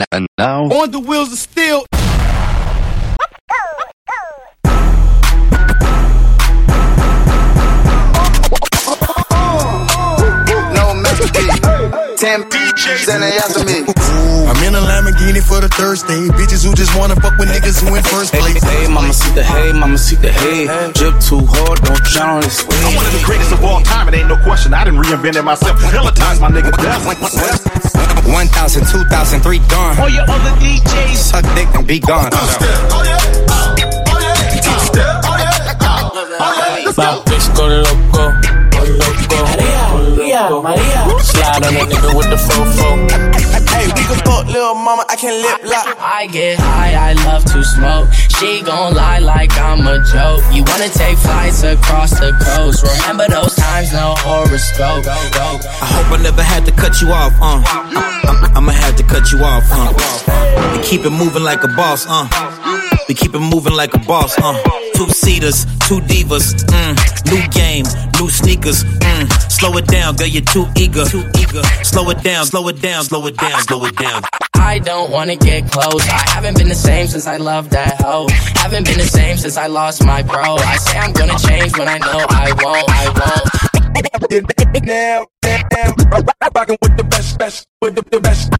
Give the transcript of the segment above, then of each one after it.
And now, on the wheels of steel. No Mexican. 10 DJs and they after me. I'm in a Lamborghini for the Thursday. Bitches who just wanna fuck with niggas who in first place. Hey, mama, see the hay, mama, see the hay. Drip too hard, don't drown on this way. I'm one of the greatest of all time, it ain't no question. I didn't reinvent it myself. Hella times, my nigga. 1,000, 2,000, 3 gone. All your other DJs Suck dick and be gone. Disco loco, Maria. Slide on a nigga with the fofo. Hey, we can fuck little mama, I can lip lock. I get high, I love to smoke. She gon' lie like I'm a joke. You wanna take flights across the coast. Remember those times, no horoscope. I hope I never had to cut you off, I'ma have to cut you off, We keep it moving like a boss, We keep it moving like a boss, 2-seaters, 2 divas, new game, new sneakers, slow it down, girl, you're too eager. Slow it down, slow it down, slow it down, slow it down. I don't wanna get close. I haven't been the same since I loved that hoe. Haven't been the same since I lost my bro. I say I'm gonna change when I know I won't. Now, rockin' with the best, with the best.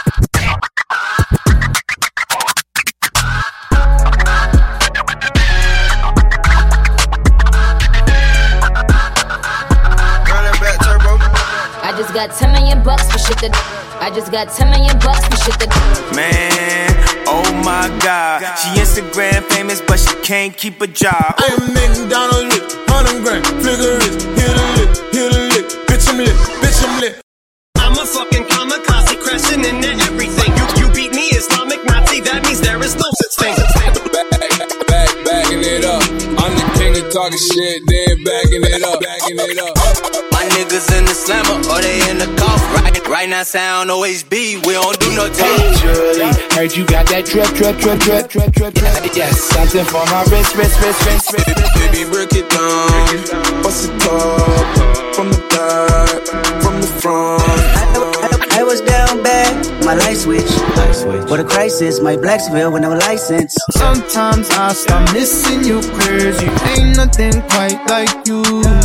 I just got 10 million bucks for shit that. I just got 10 million bucks for shit that. Man, oh my God. She Instagram famous, but she can't keep a job. I am McDonald's lit, 100 grand, figure it, hit a lick, bitch I'm lit. I'm a fucking kamikaze, crashing into everything. You beat me, Islamic Nazi, that means there is no such thing. Bagging it up. I'm the king of talking shit, then bagging it up. My niggas in the slammer, or they in the golf. Right now, sound OHB, we don't do no talk. Julie, heard you got that drip. Yes, something for my wrist. Baby, break it down. Bust it up, from the back, from the front. I was down bad, my light switch. What a crisis, my Blacksville with no license. Sometimes I start missing you, cause you ain't nothing quite like you.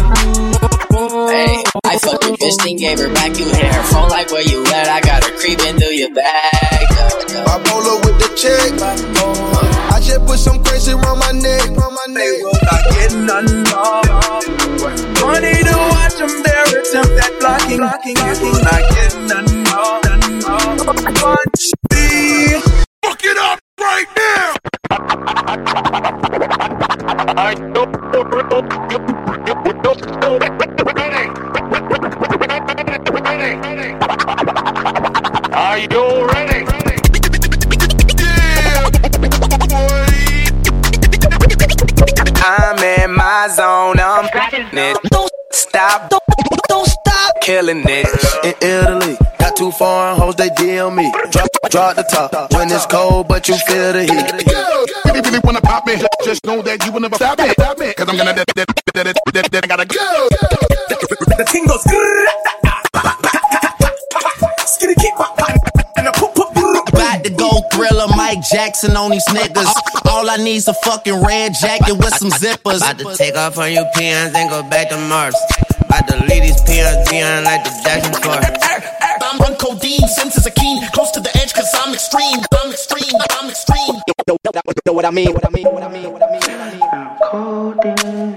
Hey, I fucked a bitch, then gave her back. You hit her phone like where you at. I got her creeping through your bag. Bipolar with the check. I just put some crazy around my neck. They will not get none more. Money to watch them there attempt at blocking. They will not get none more. Watch me. Fuck it up right now! Are you ready? I'm in my zone, I'm it. Don't stop killing it. In Italy, got too foreign hoes, they deal me. Drop the top when it's cold, but you feel the heat. If you really wanna pop me, just know that you will never stop me. Cause I'm gonna that gotta go. The thing goes. About to go Thriller, Mike Jackson on these niggas. All I need's a fucking red jacket with some zippers. About to take off on you peons and go back to Mars. About to leave these peons behind like the Jackson 4. I'm on codeine, senses are keen, close to the edge cause I'm extreme. Know what I mean? I'm codeine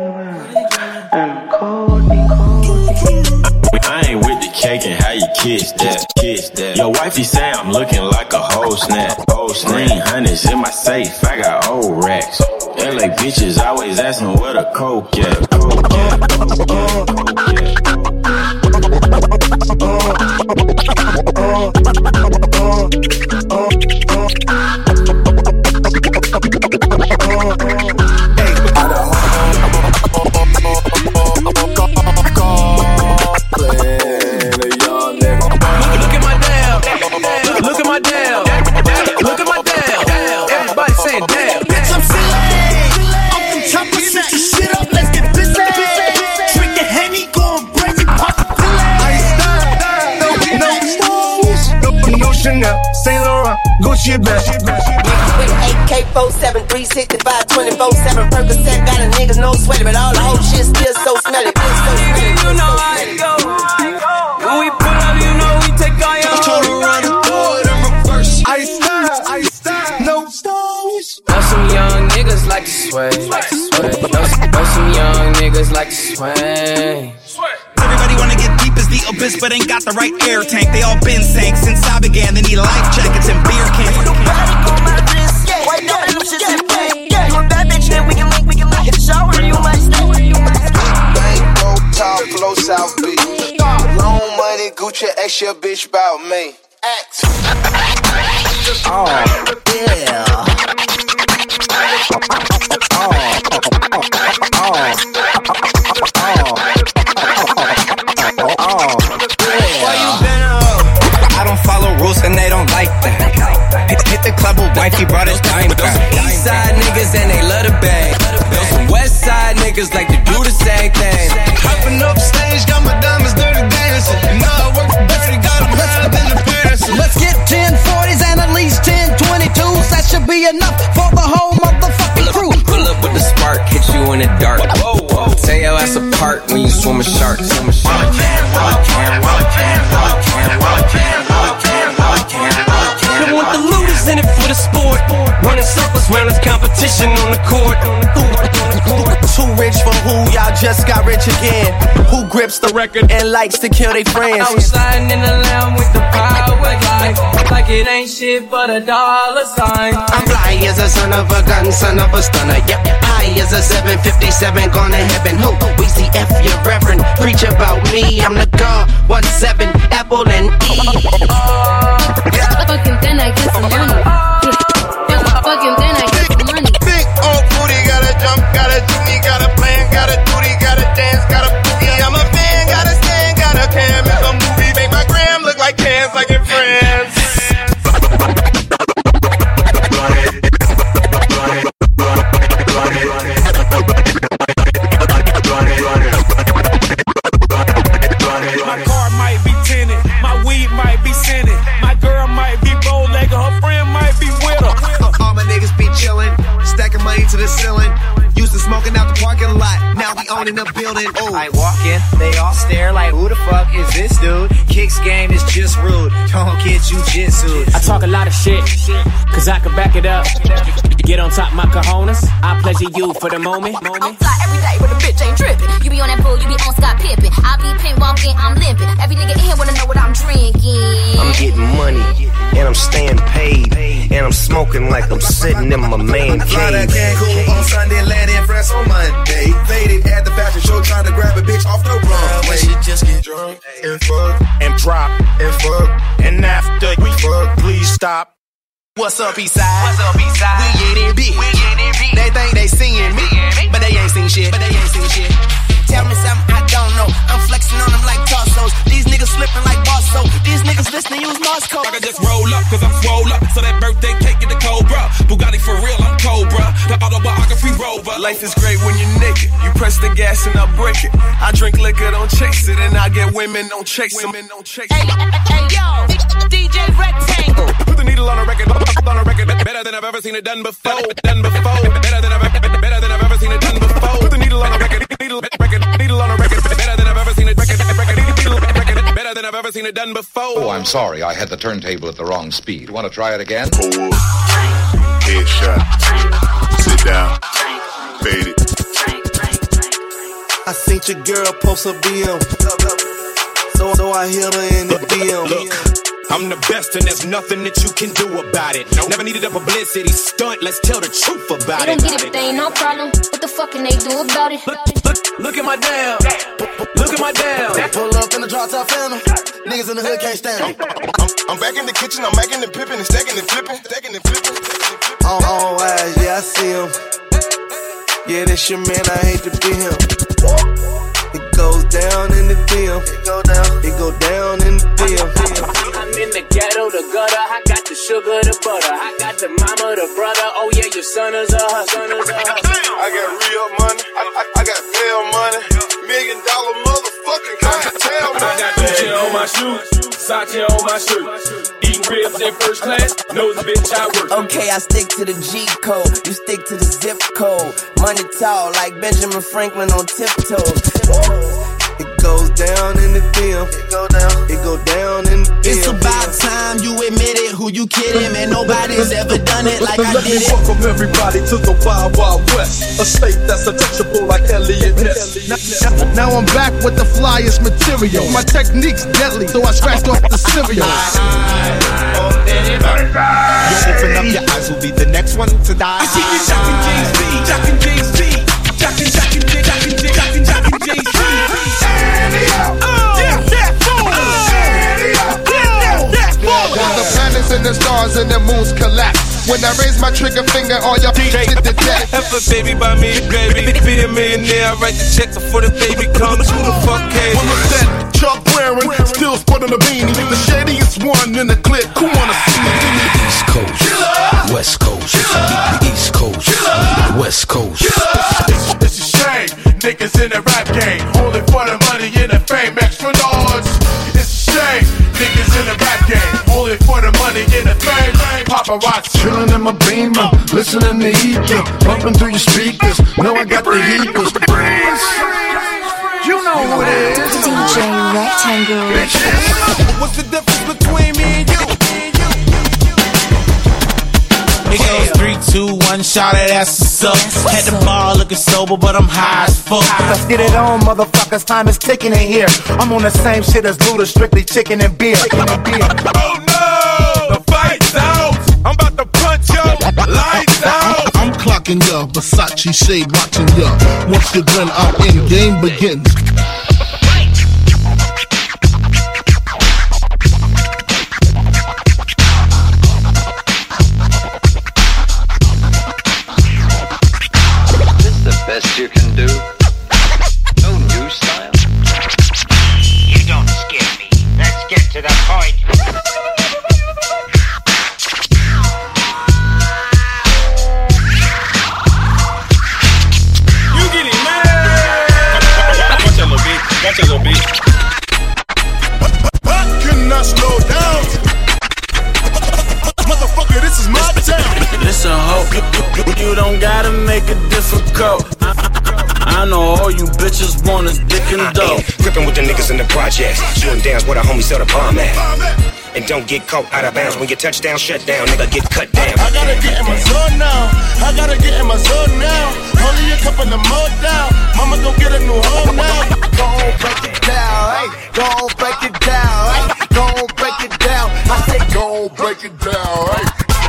I ain't with the cake and how you kiss that. Your wifey say I'm looking like a whole snap. Green hundreds in my safe, I got old racks. LA bitches always asking where the coke at. Everybody saying damn. Bitch, I'm silly. I'm from Chopper, switch the shit up, let's get busy. Drink the Henny, going crazy, pop the Kool-Aid. No Chanel Chanel, Saint Laurent, Gucci bag. With AK-47, 365, 24/7 Percocet, got a niggas no sweaty, but all the whole shit still so smelly. You know how it go. When we pull up, you know we take all your hoes. Run it forward and reverse. Ice style, no stones. Know some young niggas like to sway. Know some young niggas like to sway. Everybody wanna get deep as the abyss, but ain't got the right air tank. They all been sank since I began. They need life jackets and beer cans. White now, them shit that play. You a bad bitch, then we can link in the shower. You might stay. Bank, roll, top, flow, South Beach. Loan money, Gucci, ask your bitch about me. Act. Oh, yeah. Why you been up? I don't follow rules and they don't like that. Hit the club with wifey, brought his dime back. East side niggas and they love the bag. Those some west side niggas like to do the same thing. Hopping up stage, got my diamonds dirty dancing. And now I work for Betty, got them higher than the Paris. Let's get 1040s and at least 1022s. That should be enough for the whole motherfucking crew. Pull up with the spark, hit you in the dark. Tear your ass apart when you swim with sharks. Don't want the looters in it for the sport. Running circles round this competition on the court. Too rich for who, y'all just got rich again. Who grips the record and likes to kill their friends? I was sliding in the lamb with the power life. Like it ain't shit but a dollar sign. I'm fly as a son of a gun, son of a stunner. Yep, high as a 757, gone to heaven. Who? We see F your reverend. Preach about me, I'm the God. 17, Apple and E. Fucking then I get some money. Fucking then I get some money. Big old booty, got a jump, got a jimmy, got a plan, got a duty, got a dance, got a boogie. I'm a fan, got a stand, got a cam. It's a movie, make my gram look like cans, like in France. My car might be tinted, my weed might be scented, my girl might be bow-legged, her friend might be with her. All my niggas be chillin', stacking money to the ceiling. Used to smoking out the parking lot, now we owning the building. Ooh. I walk in, they all stare like, who the fuck is this dude? Kicks game is just rude, don't get jujitsu. I talk a lot of shit, cause I can back it up. Get on top my cojones, I pleasure you for the moment. I'm fly every day, but the bitch ain't trippin'. You be on that bull, you be on Scott Pippen. I be pink walking, I'm limping. Every nigga in here wanna know what I'm drinking. I'm getting money, and I'm staying paid, and I'm smoking like I'm sitting in my man cave. Fly that Cancun on Sunday, land in France on Monday. Faded at the fashion show, trying to grab a bitch off the runway. She just get drunk and fuck and drop and fuck, and after we fuck, please stop. What's up, Eastside? What's up, Eastside? We in it big. They think they seeing me, but they ain't seen shit. Tell me something I don't know. I'm flexing on them like torsos. These niggas slipping like Bosso. These niggas listening use Morse code. I can just roll up, cause I'm swole up. So that birthday cake in the Cobra. Bugatti for real, I'm Cobra. The autobiography rover. Life is great when you're naked. You press the gas and I break it. I drink liquor, don't chase it. And I get women, don't chase them. Hey, yo, DJ Rectangle. Put the needle on a record, better than I've ever seen it done before. Better than I've ever seen it done before. Put the needle on a record, needle on a record, better than I've ever seen it, better than I've ever seen it done before. Oh, I'm sorry, I had the turntable at the wrong speed. Want to try it again? Forward, headshot, sit down, fade it. I seen your girl post a BM, so I hit her in the DM. Look, I'm the best and there's nothing that you can do about it. Never needed a publicity stunt, let's tell the truth about They it. don't get it, but they ain't no problem. What the fuck can they do about it? Look at my damn. Look at my damn. Pull up in the drop top phantom. Niggas in the hood can't stand me. I'm back in the kitchen, I'm back in the pippin' and stacking and flipping. All eyes, yeah, I see him. Yeah, that's your man, I hate to be him. It goes down in the DM. It go down in the DM. I'm in the ghetto, the gutter. I got the sugar, the butter. I got the mama, the brother. Oh yeah, your son is a hustler. I got real money. I got bail money. $1 million motherfucking clientele money. I got Gucci on my shoes, Sachi on my shirt. Eat ribs in first class, knows the bitch I work. Okay, I stick to the G code, you stick to the zip code. Money tall like Benjamin Franklin on tiptoes. It goes down in the DM. It go down in the DM. It's about time you admit it. Who you kidding, man? Nobody's ever done it like I did it. Welcome everybody to the Wild Wild West, a state that's untouchable like Elliot Ness. Now I'm back with the flyest material. My technique's deadly, so I scratched off the cereal. You open up your eyes, will be the next one to die. I see you jockin' Jay-Z, jockin' Jay-Z, jockin' Jay-Z. When the planets and the stars and the moons collapse, when I raise my trigger finger, all your feet hit the deck. If a baby by me, baby, be a millionaire. I write the check before the baby comes. Who the fuck cares? Well, look that Chuck wearing, still sporting a beanie. The shadiest one in the clip. Who wanna see me? East Coast, West Coast, East Coast, West Coast. It's a shame, niggas in the rap game, only for the money and the fame, extra large. It's a shame, niggas in the rap game, only for the money and the fame. Paparazzi chillin' in my Beamer, listening to Ether, bumping through your speakers. Know I got the heaters. You know who it is. DJ Rectangle. What's the difference between me and you? It goes 3, 2, 1, shot it, that's what's up. Had the bar looking sober, but I'm high as fuck. Let's get it on, motherfuckers, time is ticking in here. I'm on the same shit as Luda, strictly chicken and beer. Oh no, the fight's out. I'm about to punch yo, lights out. I'm clocking ya, Versace shade watching ya. Once you grin out in, game begins. Best you can do. No new style. You don't scare me. Let's get to the point. You get it, man. Watch a little bit. Watch a little bit. cannot slow down. Motherfucker, this is my town. Listen, ho, you don't gotta make it difficult. I know all you bitches want is dick and dope. Gripping with the niggas in the projects, shooting downs where the homies sell the bomb at. And don't get caught out of bounds when your touchdown shut down, nigga get cut down. I gotta get in my zone now. I gotta get in my zone now. Only a couple of more down. Mama gon' get a new home now. Go on, break it down, hey. Go on, break it down, hey. Go on, break it down. I say go on, break it down, hey.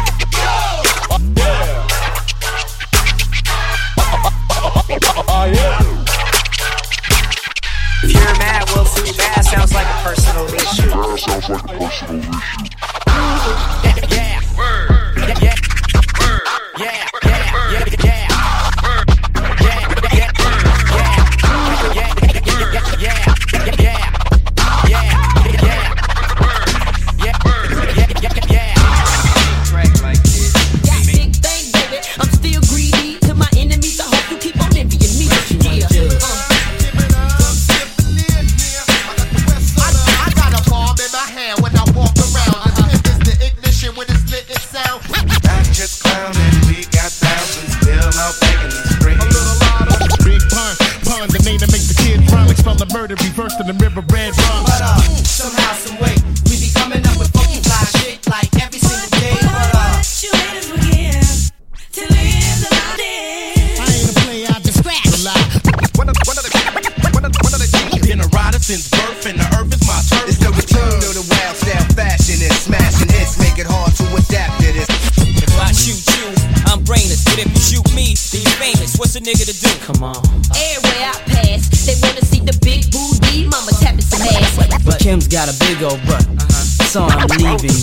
If you're mad, well, too bad. Sounds like a personal issue. Sounds like a personal issue. Yeah. Word. Yeah. Word. Yeah. Murder reversed in the river red rum. But somehow, some way, we be coming up with funky fly shit like every single day. But you haters forgive till the end of my day. I ain't a player, I just scratch a lot. One of the been a rider since birth, and the earth is my turf. It's the return of the wild style fashion and smashing hits make it hard to adapt to this. If I shoot you, I'm brainless. But if you shoot me, then you famous. What's a nigga to do? Come on. Everywhere I pass, they wanna see the big booty mama tapping some ass. But Kim's got a big old butt, so I'm leaving.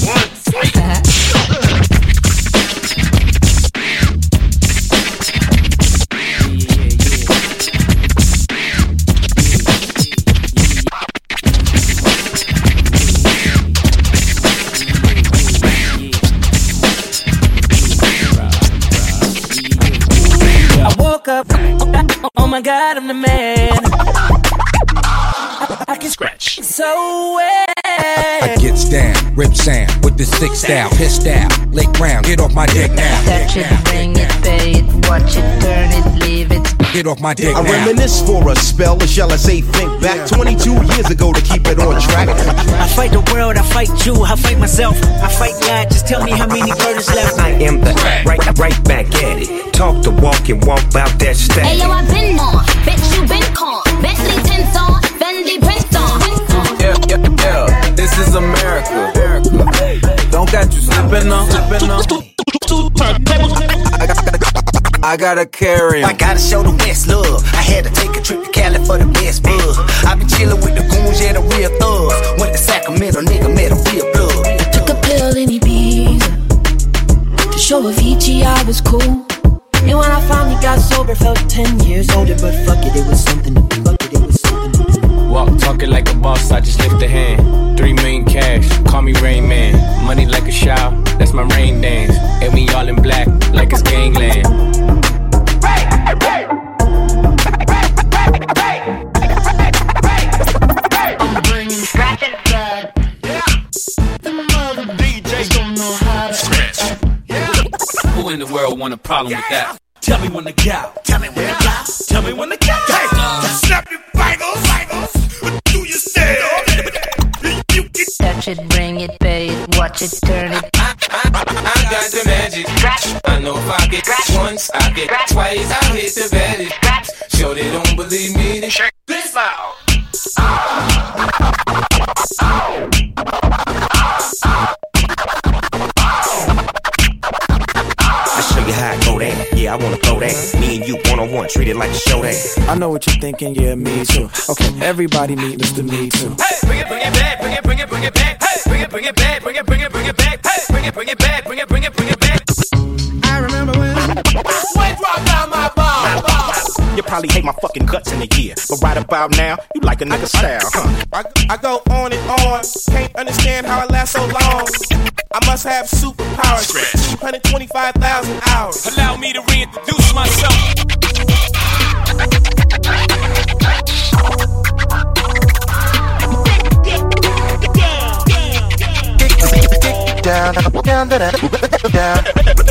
I woke up, oh my God, I'm the man. I can scratch. So wet. I gets down, rip sound with the sick style, pissed out, lay ground, get off my dick now. Touch it, bring it, pay it, watch it, turn it, leave it. Get off my dick I now. reminisce for a spell, as shall I say, think back 22 years ago to keep it on track. I fight the world, I fight you, I fight myself, I fight God. Just tell me how many burdens left. I am the right back at it. Talk the walk and walk out that stack. Hey yo, I been on, bitch you been con. Bentley tints on, Fendi prints on. Yeah, this is America. Don't got you slipping on. I gotta carry him. I gotta show the West love. I had to take a trip to Cali for the best buzz. I been chillin' with the goons, yeah, the real thugs. Went to Sacramento, nigga, met a real blood. I took a pill in Ibiza to show Avicii I was cool. And when I finally got sober, felt 10 years older. But fuck it, it was something to do. Walk talking like a boss, I just lift a hand. 3 million cash, call me Rain Man. Money like a shower, that's my rain dance. And we all in black, like it's gangland. I'm bringing scratching blood. The mother DJs don't know how to scratch. Who in the world want a problem with that? Tell me when to go. Tell me when to go. Tell me when to go. Hey, snap your fingers. What do you say? Touch it, bring it, pay it, watch it, turn it. I got the magic. I know if I get once, I get twice. I hit the baddest. Sure they don't believe me, then check this out. I show you how I go that. Yeah, I wanna throw that. Me and you one-on-one, treat it like a show that. I know what you're thinking, yeah, me too. Okay, everybody meet Mr. Me Too. Hey, bring it back, bring it back. Hey, bring it back, bring it back. Hey, bring it back, bring it back. I remember when drop down my ball. You probably hate my fucking guts in a year, but right about now, you like a nigga style, huh? I go on and on, can't understand how I last so long. I must have superpowers, 225,000 hours. Allow me to reintroduce myself. Down.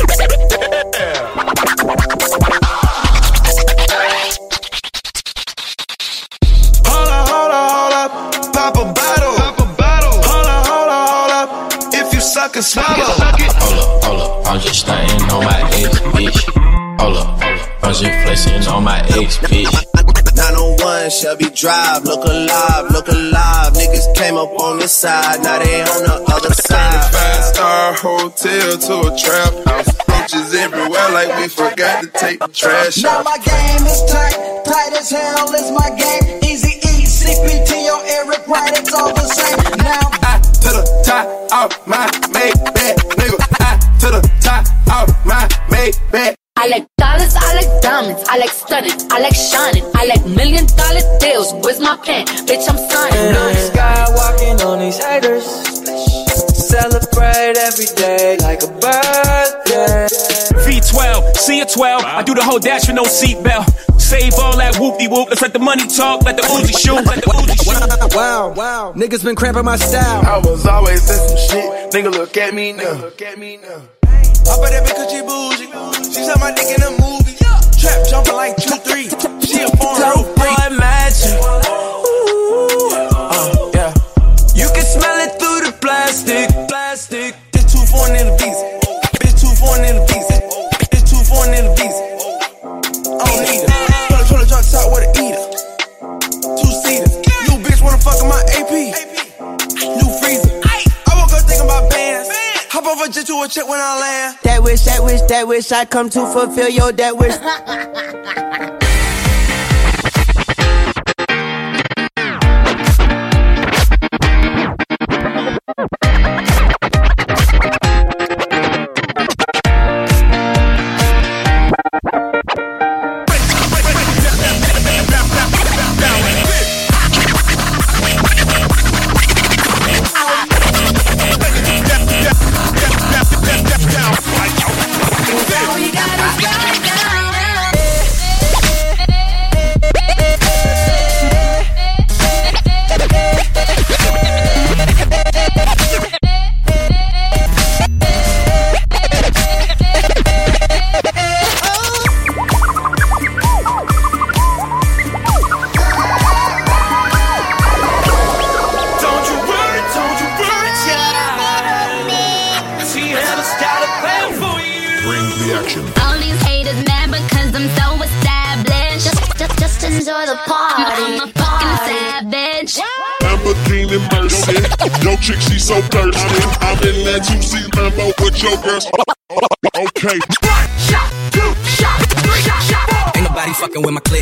Hold up, pop a bottle. Hold up, if you suck and swallow. Hold up, I'm just stunting on my ex, bitch. Hold up, I'm just flexing on my ex, bitch. 901 Shelby Drive, look alive. Niggas came up on this side, now they on the other side. 5-star hotel to a trap house. Roaches everywhere like we forgot to take the trash Now out. my game is tight as hell is my game. Easy E, CPT, or Eric Wright, it's all the same. Now I to the top of my Maybach, nigga. I to the top of my Maybach. I like dollars, I like diamonds, I like stunning, I like shining, I like $1 million deals. Where's my pen? Bitch, I'm signing. Blue sky walking on these haters. Celebrate every day like a birthday. V12, see a 12. I do the whole dash with no seatbelt. Save all that whoop-de-whoop. Let's let the money talk, let the Uzi shoot. Wow, niggas been cramping my style. I was always in some shit. Nigga, look at me now. I bet that bitch 'cause she bougie. She saw my dick in a movie. Trap jumping like 2-3. She a foreign real freak. Boy, magic. Yeah. You can smell it through the plastic. This too foreign in the visa. Bitch too foreign in the visa. This too foreign in the visa. I don't need her. Pull a drop top with an eater. 2-seater. New bitch wanna fuck in my AP. New freezer. I woke up thinking about bands. Hop over jet to a check when I land. that wish I come to fulfill your that wish. production. All these haters mad because I'm so established. Just enjoy the party. I'm a fucking savage. Lamborghini Mercy, yo chick she so thirsty. I'm in that 2C Lambo with your girl. Okay. Shot, two shot, three shot. Ain't nobody fucking with my click.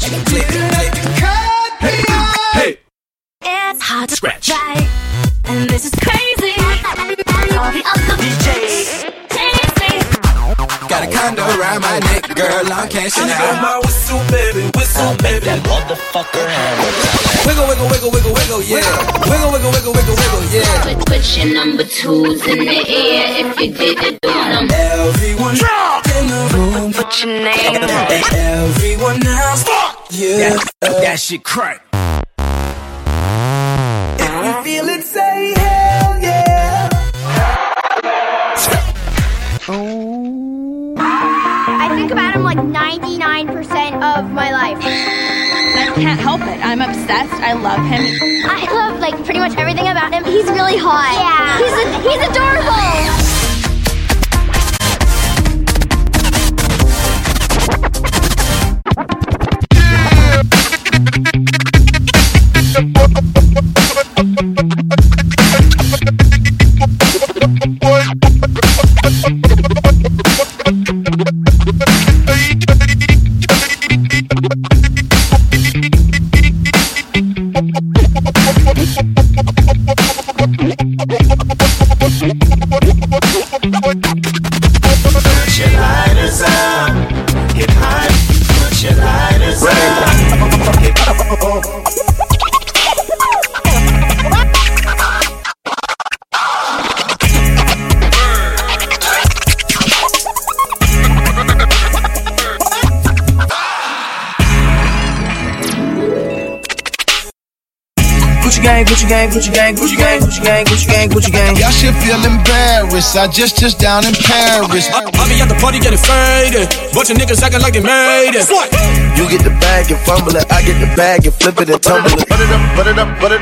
Hey. It's hard to Scratch. right, and this is crazy. All the other DJs. Got a condo around my neck, girl, I'm cashing out. My whistle, baby, That motherfucker hammer. Wiggle, yeah. Wiggle, yeah. Put your number twos in the air if you did it on them. Everyone in the room, Put your name on and everyone else. Yeah, That shit crack. If you feel it, say hell yeah. I think about him like 99% of my life. I can't help it. I'm obsessed. I love him. I love like pretty much everything about him. He's really hot. Yeah. He's adorable. Gucci gang. Y'all should feel embarrassed. I just down in Paris. I be at the party getting faded. Bunch of niggas acting like they made it. You get the bag and fumble it. I get the bag and flip it and tumble it. Put it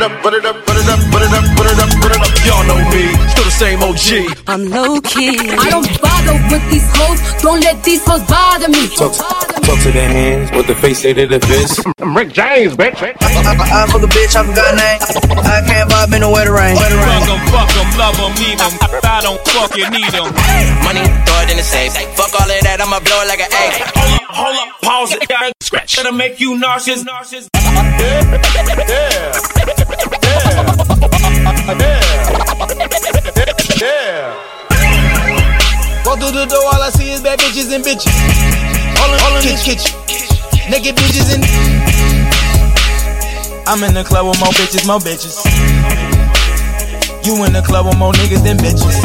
up. Y'all know me, still the same OG. I'm low key. I don't bother with these hoes. Don't let these hoes bother me. Talk to their hands, what the face say to the fist. I'm Rick James, bitch. I fuck a bitch, I forgot name. I can't vibe in the weather rain. Fuck 'em, love 'em, leave 'em. I don't fucking need 'em. Money, throw it in the safe. Fuck all of that, I'ma blow it like an egg. Hold up, pause it, scratch. That'll make you nauseous. Yeah. Go through the door, all I see is bad bitches and bitches. All in this kitchen. Naked bitches and I'm in the club with more bitches. You in the club with more niggas than bitches.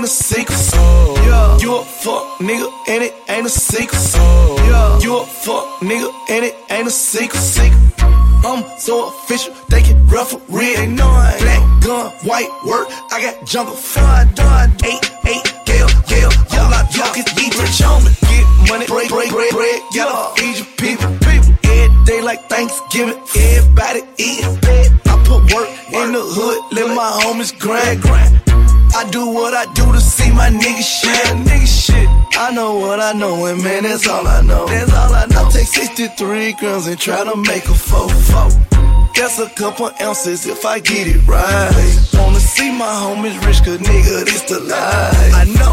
secret. Yeah, you a fuck nigga and it ain't a secret. Yeah, you a fuck nigga and it ain't a secret. I'm so official, they can referee. They know I ain't black gun, white work. I got jungle fun, done. 8, Gale. Y'all not talking, eat rich on me. Get money, break, gotta feed your people. Every day like Thanksgiving, everybody eating. I put work in the hood, let my homies grind. I do what I do to see my niggas shit. I know what I know, and man, that's all I know. I take 63 grams and try to make a 4-4. That's a couple ounces if I get it right. Wanna see my homies rich, cause nigga, this the life. I know.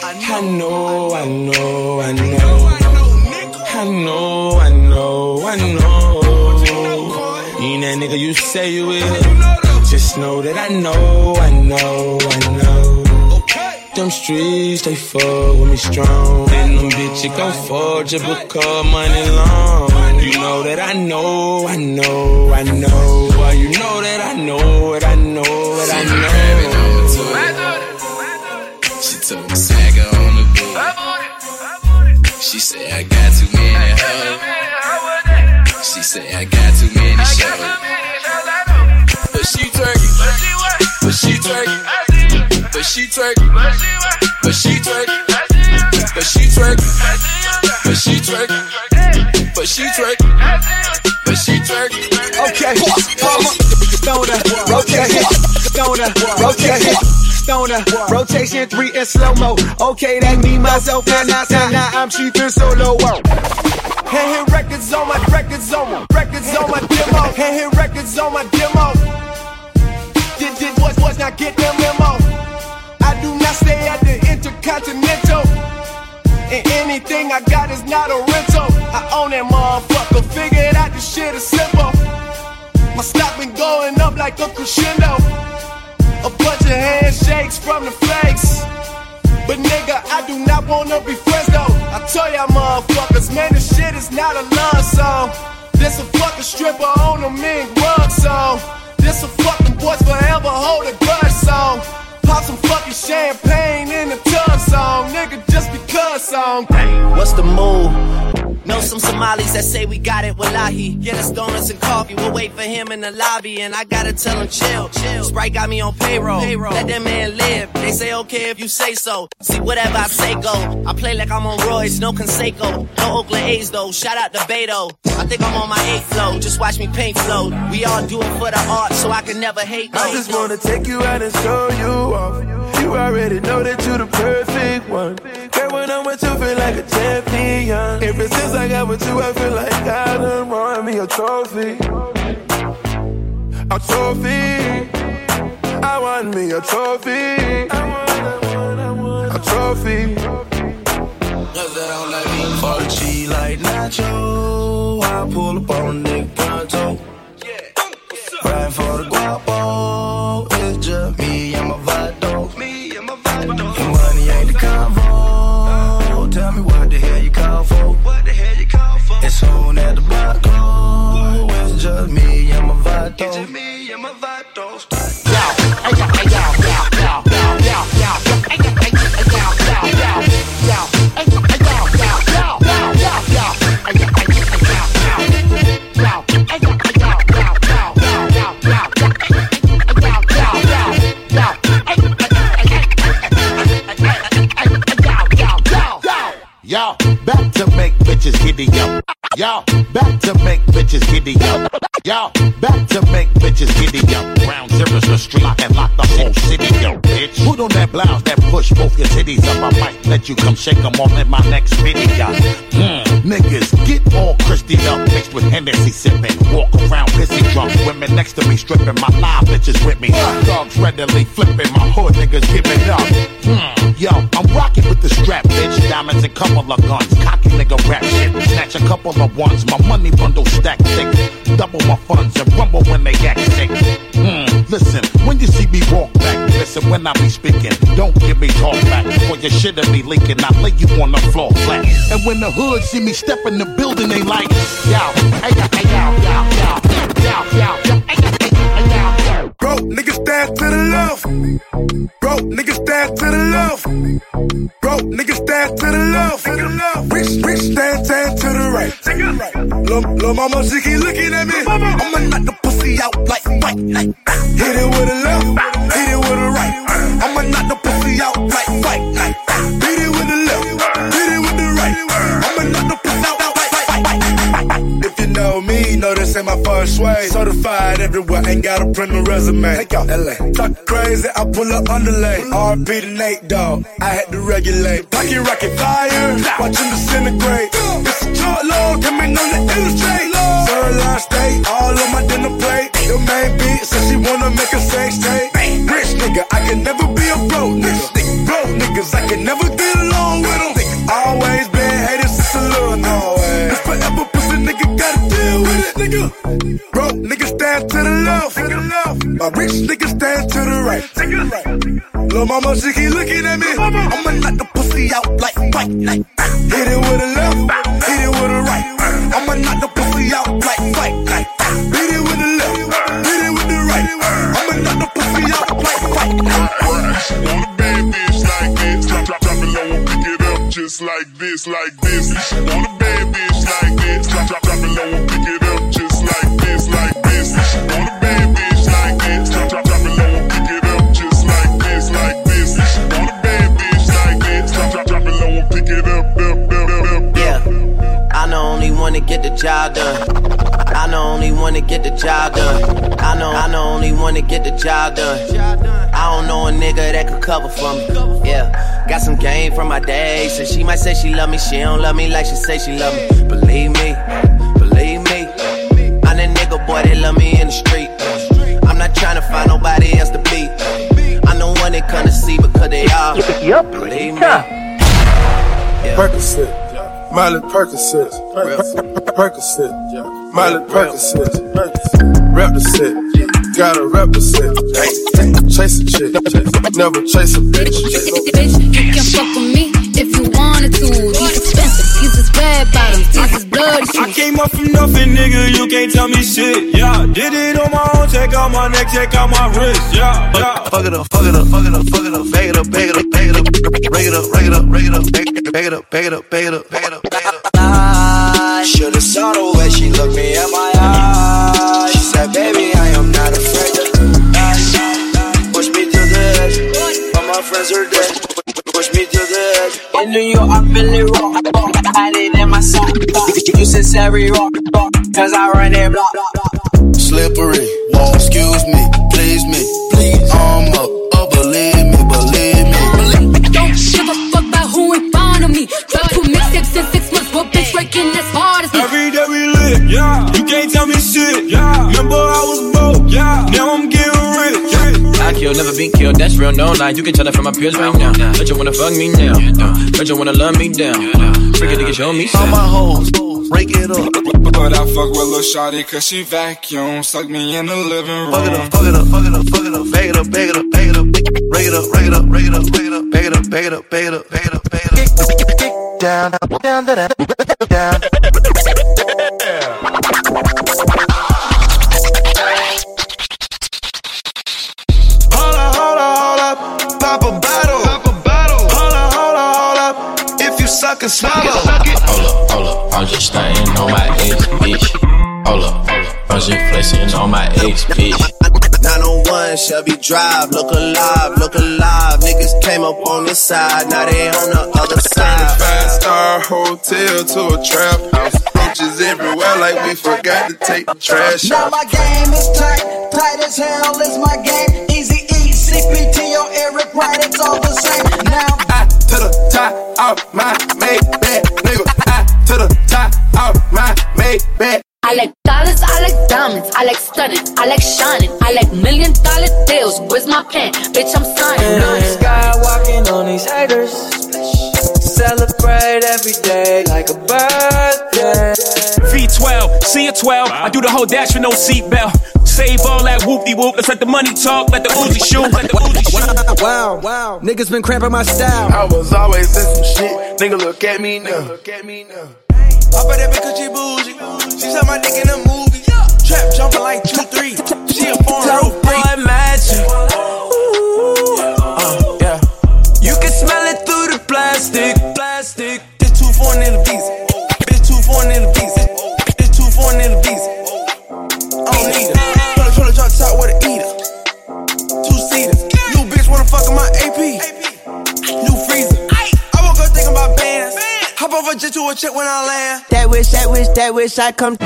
You ain't that nigga you say you will. Just know that I know. Them streets, they fuck with me strong. And them bitches gon' forge it because money long. You know that I know. Well, you know that I know. She told me swagger on the boot. She said I got too many hoes. She said I got too many shows. But she twerking. Okay, stoner, rotation 3 in slow-mo. Okay, that me, myself, and I. Now I'm cheapin' solo. Can't hit records on my demo. Can't hit records on my demo. Did what's not get them memo. I do not stay at the Intercontinental. And anything I got is not a rental. I own that motherfucker, figured out this shit is simple. My stock been going up like a crescendo. A bunch of handshakes from the flakes. But nigga, I do not wanna be friends though. I tell y'all motherfuckers, man, this shit is not a love song. This a fucking stripper on a mink rug song. This a fucking boys forever hold a grudge song. Pop some fucking champagne in the tub song. Nigga, just because song. What's the move? Know some Somalis that say we got it, wallahi. Get us donuts and coffee, we'll wait for him in the lobby. And I gotta tell him chill. Sprite got me on payroll. Let that man live. They say okay if you say so. See whatever I say go. I play like I'm on Royce, no Conseco. No Oakland A's though, shout out to Beto. I think I'm on my 8th flow, just watch me paint flow. We all do it for the art, so I can never hate no. I just wanna take you out and show you off. You already know that you're the perfect one. Girl, when I'm with you, feel like a champion. Ever since I got with you, I feel like I done won me a trophy. A trophy. I want me a trophy. A trophy. Fuck G like Nacho. I pull up on a nigga pronto. Ride for the guapo. It's just me and my vato. And money ain't the convo. Tell me what the hell you call for. It's soon at the block close. It's just me and my vato. Y'all back to make bitches giddy up. Y'all back to make bitches giddy up. Y'all back to make bitches giddy up. Ground zero's the street and lock the whole city up, bitch. Put on that blouse that push both your titties up. I might let you come shake them all in my next video. Niggas get all Christy up, mixed with Hennessy sipping. Walk around pissy drunk, women next to me stripping. My live bitches with me. Dogs readily flipping, my hood niggas giving up. Yo, I'm rocking with the strap, bitch. Diamonds and couple of guns, cocky nigga rap shit. Snatch a couple of ones, my money bundle stack thick. Double my funds and rumble when they act sick. Listen, when you see me walk back, listen when I be speaking. Don't give me talk back, for your shit'll be leaking. I lay you on the floor flat. And when the hood see me step in the building, they like, yo, Bro, niggas stand to the left. Bro, niggas stand to the left. left. Broke niggas stand to the left. Rich stand to the right. Lil' mama, she keep looking at me. I'ma knock the pussy out like fight. Hit it with a left, hit it with a right. I'ma knock the pussy out like fight. Hit it with the left, hit it with the right. I'ma knock the pussy out like fight. If you know me, know this ain't my first way. Certified everywhere, ain't gotta print a resume. Take out LA. Talk crazy, I pull up underlay. RP to Nate, dog. I had to regulate. Pocket rocket fire, watch him disintegrate. It's a short load, coming on the illustrate. Third line state, all on my dinner plate. Your main beat says she wanna make a sex tape. Rich nigga, I can never be a broke nigga. Broke niggas, I can never get along with them. Always been hated since a little always. It's forever pussy nigga gotta deal with it, nigga. Broke niggas stand to the left. My rich niggas stand to the right. Lil' mama, she keep looking at me. I'ma knock the pussy out like fight. Hit it with a left, hit it with a right. I'ma knock the pussy out like fight. Hit it with the left, hit it with the right. I'ma knock the pussy out like fight. She want a bad bitch like this. Drop it low and pick it up just like this. She want a bad bitch like this. Drop it low and pick it up just like this. She want a bad bitch like this. Drop it low and pick it up just like this. She want a bad bitch like this. Drop it low and pick it up. Yeah, I know only one to get the job done. I know only one to get the job done. I know only one to get the job done. I don't know a nigga that could cover for me. Yeah, got some game from my day. So she might say she love me, she don't love me like she say she love me. Believe me, I'm that nigga boy that love me in the street. I'm not trying to find nobody else to beat. I'm the one they come to see because they all believe me. Percocet, Miley Percocet, Percocet, Miley Percocet, rep the set, gotta rep the set. Chase a chick, never chase a bitch. Bitch, you can fuck with me if you wanted to. These expensive, these is red bottoms, these is bloody shoes. I came up from nothing, nigga, you can't tell me shit. Yeah, did it on my own, check out my neck, check out my wrist. Yeah, fuck it up, fuck it up, fuck it up, fuck it up, bag it up, bag it up, bag it up, bring it up, bring it up, bring it up, bag it up, bag it up, bag it up, bag it up, bag it up. I should've saw the way she looked me in my eyes. She said, baby, I am not afraid to push me to the edge. All my friends are dead. Push me to the edge. In New York, I'm really raw. I did in my song. You said Sari raw, cause I run that block. Slippery, excuse me, please me, please. I'm up, believe me, believe me. Don't give a fuck about who in front of me. Drop 2 mixtapes in 6 months, what bitch working as hard as me. Every day we lit, yeah. You can't tell me shit, yeah. Remember I was broke, yeah. Now I'm getting rich, yeah. I kill, never been killed, that's real, no lie. You can tell that from my peers right now. But you wanna fuck me now, but you wanna love me down. Freaking nigga, show me all my hoes, break it up. But I fuck with Lil' Shawty cause she vacuum. Suck me in the living room. Fuck it up, fuck it up, fuck it up, fuck it up. Bag it up, bag it up, bag it up. Break it up, break it up, break it up, break it up. Bag it up, bag it up, bag it up, bag it up, bag it up. Down, down, down, down. Hold up, pop a bottle. Hold up, if you suck and swallow. Hold up, I'm just stunting on my ex, bitch. Hold up, I'm just flexing on my ex, bitch. 901 Shelby Drive, look alive. Niggas came up on this side, now they on the other side. 5-star hotel to a trap house. Roaches everywhere like we forgot to take the trash now out. my game is tight as hell is my game. Easy E, CPT, or Eric Wright, it's all the same. Now I to the top of my Maybach, nigga. I to the top of my Maybach. I like dollars, I like diamonds, I like stunning, I like shining, I like $1 million deals. Where's my pen? Bitch, I'm signing. Blue sky walking on these haters. Celebrate every day like a birthday. V12, see a 12. I do the whole dash with no seatbelt. Save all that whoop-de-whoop. Let's let the money talk, let the Uzi shoot, let the Uzi shoot. Wow, niggas been cramping my style. I was always in some shit. Nigga, look at me now. I bet that bitch cause she bougie. She saw my dick in a movie. Trap jumping like 2-3. She a foreign roof. Boy magic. Yeah. You can you to a check when I land. That wish I come.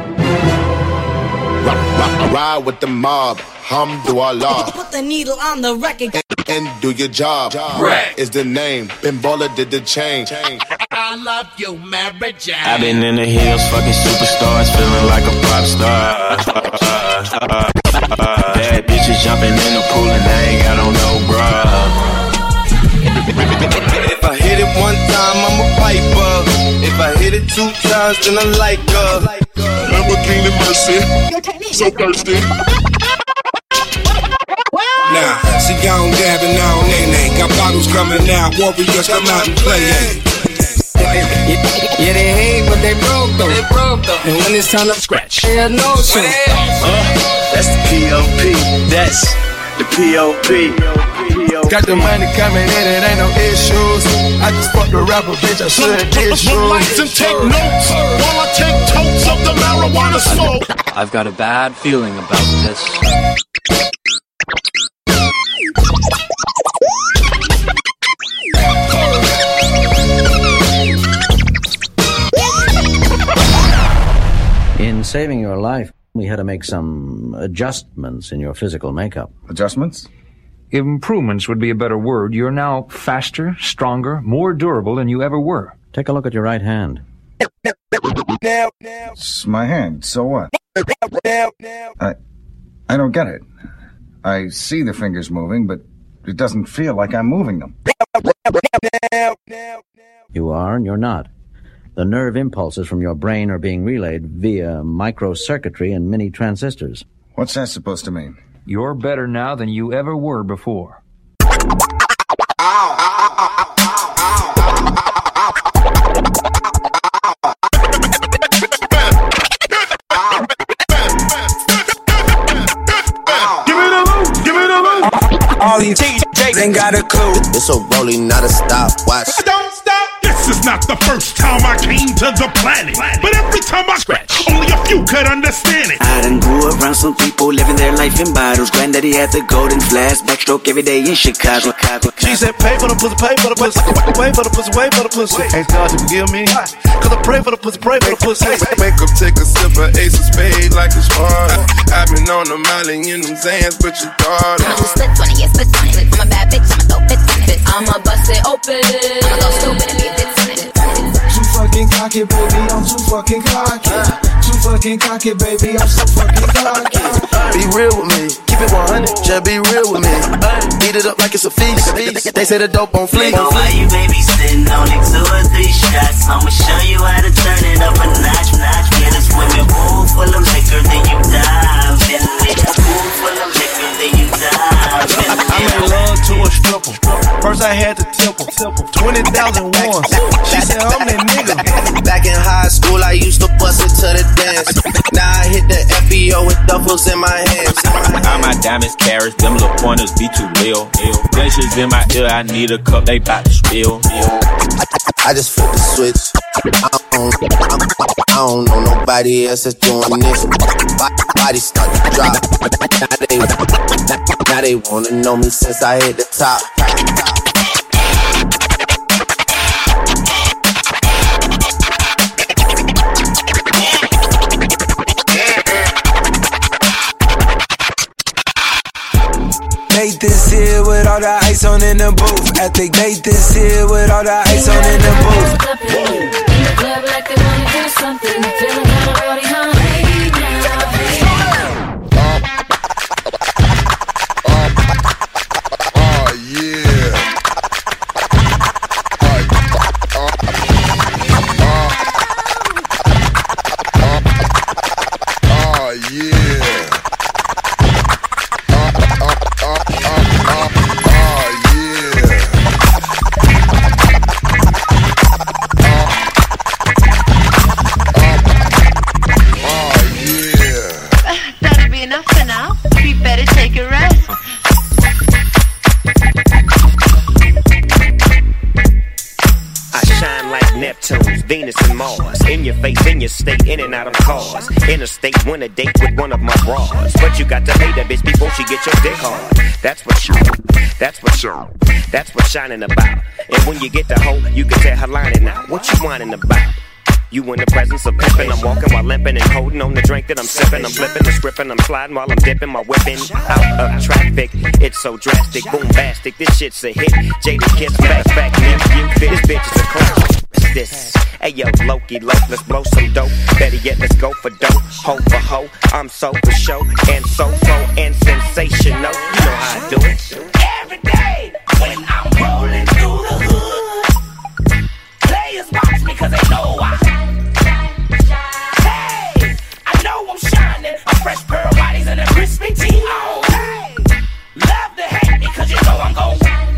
Ride with the mob, Hamdulillah. Put the needle on the record and do your job. Right is the name. Ben Baller did the change. I love you, Mary Jane. I've been in the hills, fucking superstars, feeling like a pop star. Bad bitches jumping in the pool and they ain't got on no bra. If I hit it one time, I'm a piper. If I hit it 2 times, then I like her. Lamborghini Mercy, so thirsty. Now, see y'all dabbing now, nay. Got bottles coming out, warriors come out and play. Yeah, they hate, but they broke though. And when it's time to scratch, they no show. That's the P.O.P. That's the P.O.P. Got the money coming in, it ain't no issues. I just fucked a rapper, bitch, I should've did shoes. Relax and take notes while I take totes of the marijuana smoke. I've got a bad feeling about this. In saving your life, we had to make some adjustments in your physical makeup. Adjustments? Improvements would be a better word. You're now faster, stronger, more durable than you ever were. Take a look at your right hand. It's my hand, so what? I don't get it. I see the fingers moving, but it doesn't feel like I'm moving them. You are and you're not. The nerve impulses from your brain are being relayed via microcircuitry and mini transistors. What's that supposed to mean? You're better now than you ever were before. All these TJs ain't got a clue. It's a rolling, not a stopwatch. Don't stop. This is not the first time I came to the planet, but every time I scratch, only a few could understand it. I done grew around some people living their life in bottles. Granddaddy had the golden flash, backstroke every day in Chicago. She said, pay for the pussy, pay for the pussy, wait for the pussy, wait for the pussy. Ask God to forgive me, cause I pray for the pussy, pray for the pussy. Wake up, take a sip of Ace of Spades like it's hard. I've been on the mountain in them Zans, but your daughter. Split 20, yeah, split 20. I'm a bad bitch, I'ma throw bits on it. I'ma bust it open. I'ma go stupid and be a bitch on it. Too fucking cocky, baby, I'm too fucking cocky. Too fucking cocky, baby, I'm so fucking cocky. Be real with me, keep it 100, just be real with me. Eat it up like it's a feast. They say the dope on fleek. Why you babysitting only 2 or 3 shots? I'ma show you how to turn it up a notch. Get a swimming pool full of liquor, then you dive in it. Pool full of liquor, then you dive in it. I made love to a stripper. First I had to tip her 20,000 ones. She said I'm that nigga. Back in high school, I used to bust it to the dance. Now I hit the FBO with duffels in my hands. All my diamonds, carrots, them little pointers be too real. Pleasures in my ear, I need a cup, they bout to spill. I just flipped the switch. I don't know nobody else that's doing this. Body start to drop. Now they wanna know me since I hit the top. Made this here with all the ice on in the booth. I think made this here with all the ice on in the booth. In the club like they wanna do something. Feeling kinda rowdy, huh? Hey now, hey now. Oh yeah. Oh yeah. That'll be enough for now. We better take a rest. I shine like Neptune, Venus, and Mars. In your face in your state, in and out of cars. Interstate, win a date with one of my bras. But you got to pay that bitch before she get your dick hard. That's what shining about. And when you get the hoe, you can tell her lining out. What you whining about? You in the presence of pimpin', I'm walking while limping and holding on the drink that I'm sipping. I'm flipping the script and I'm sliding while I'm dipping my whipping out of traffic. It's so drastic, bombastic, this shit's a hit. Jada Kiss, back, nephew, this bitch is a classic. This, hey yo, Loki, let's blow some dope. Better yet, let's go for dope, hoe for hoe. I'm so for show and so and sensational. You know how I do it. Every day when I'm rolling through the hood, players watch me 'cause they know I'm shining, a fresh pair of bodies and a crispy tee on. Hey, love to hate me 'cause you know I'm gon'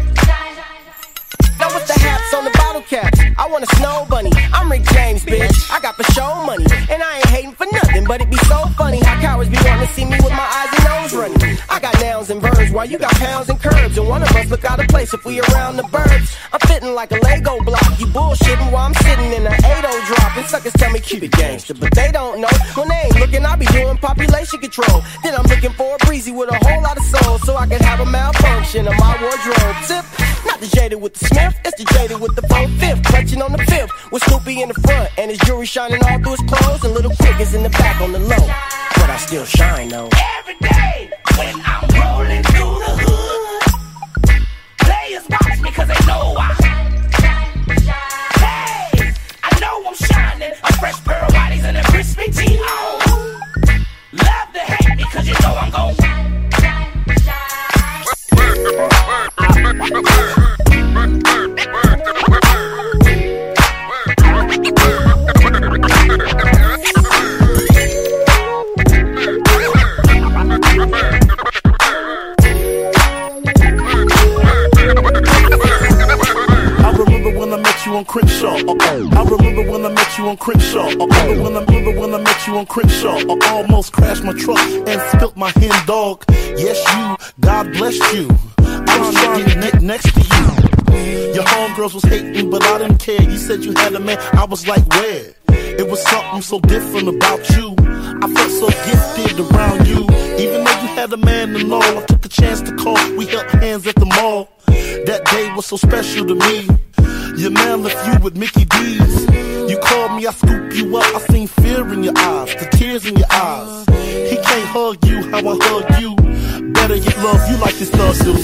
Now what's the hats on the bottle caps? I want a snow bunny. I'm Rick James, bitch. I got for show money, and I ain't hating for nothing. But it be so funny how cowards be wanting to see me with my eyes and nose running. I got nouns and verbs while you got pounds and curves, and one of us look out of place if we around the birds. I'm fitting like a Lego block. You bullshitting while I'm sitting in an 8-0 drop, and suckers tell me keep it gangster, but they don't know. When they ain't looking, I be doing population control. Then I'm looking for a breezy with a whole lot of soul, so I can have a malfunction of my wardrobe. Zip. Not the Jada with the Smith, it's the Jada with the 4-5, clutching on the 5th, with Snoopy in the front, and his jewelry shining all through his clothes, and little Quick is in the back on the low, but I still shine though. Every day when I'm rolling through the hood, players watch me 'cause they know hey, I know I'm shining, a fresh pair of bodies and a crispy tee on. Love to hate me 'cause you know I'm gon' On Crenshaw, I remember when I met you on Crenshaw. I remember when I met you on Crenshaw. I almost crashed my truck and spilt my hen dog. Yes, you, God bless you. I was trying to get next to you. Your homegirls was hating, but I didn't care. You said you had a man, I was like, where? It was something so different about you. I felt so gifted around you. Even though you had a man and all, I took a chance to call. We held hands at the mall. That day was so special to me. Your man left you with Mickey D's. You called me, I scooped you up. I seen fear in your eyes, the tears in your eyes. He can't hug you how I hug you. Better yet, love you like this love do.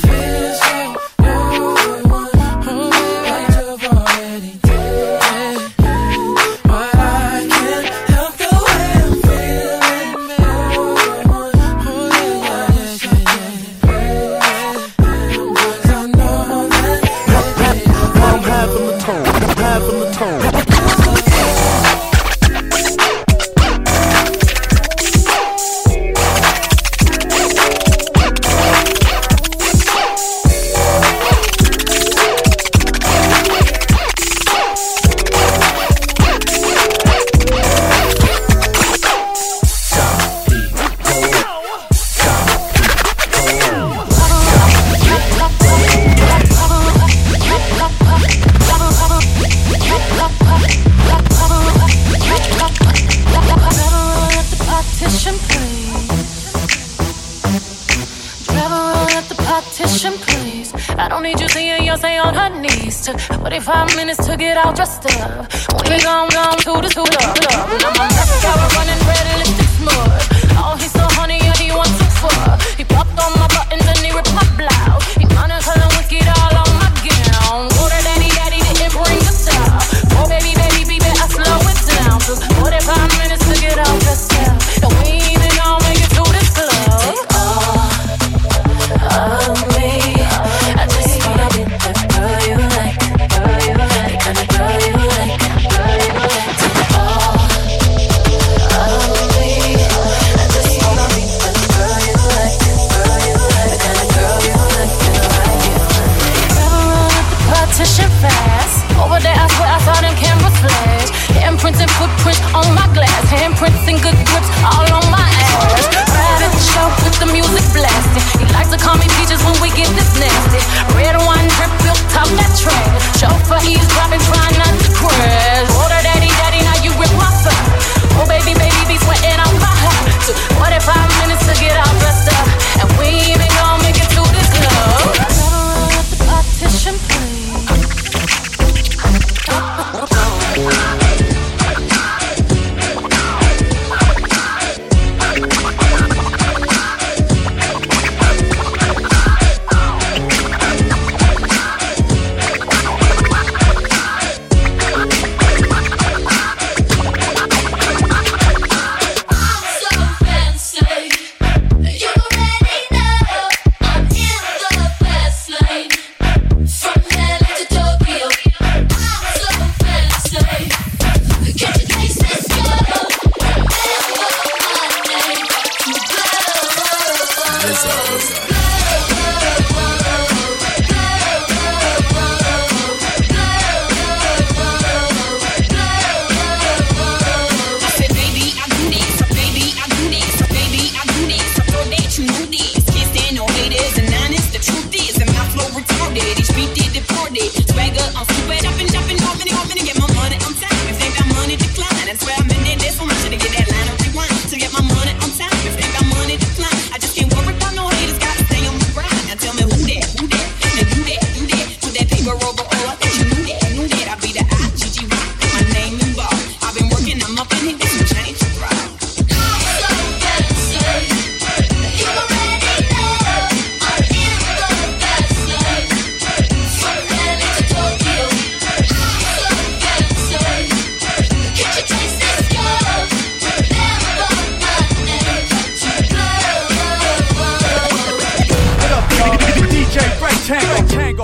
I don't need you seeing Beyonce on her knees. Took 45 minutes to get all dressed up. We gon' to the school up. Now my mascara running red, lipstick smudge. Oh, he's so honey, yeah, he wants to fuck. He popped on my buttons and he ripped my blouse. He kinda color whiskey all on my gown. Water daddy didn't bring the style. Oh, baby, I slow it down. Took 45 minutes to get all dressed up. And we ain't even gon' make it to this club. Take all of me. I just wanna be that girl you like, the kind of girl you like, Take all of me. I just wanna be that girl you like,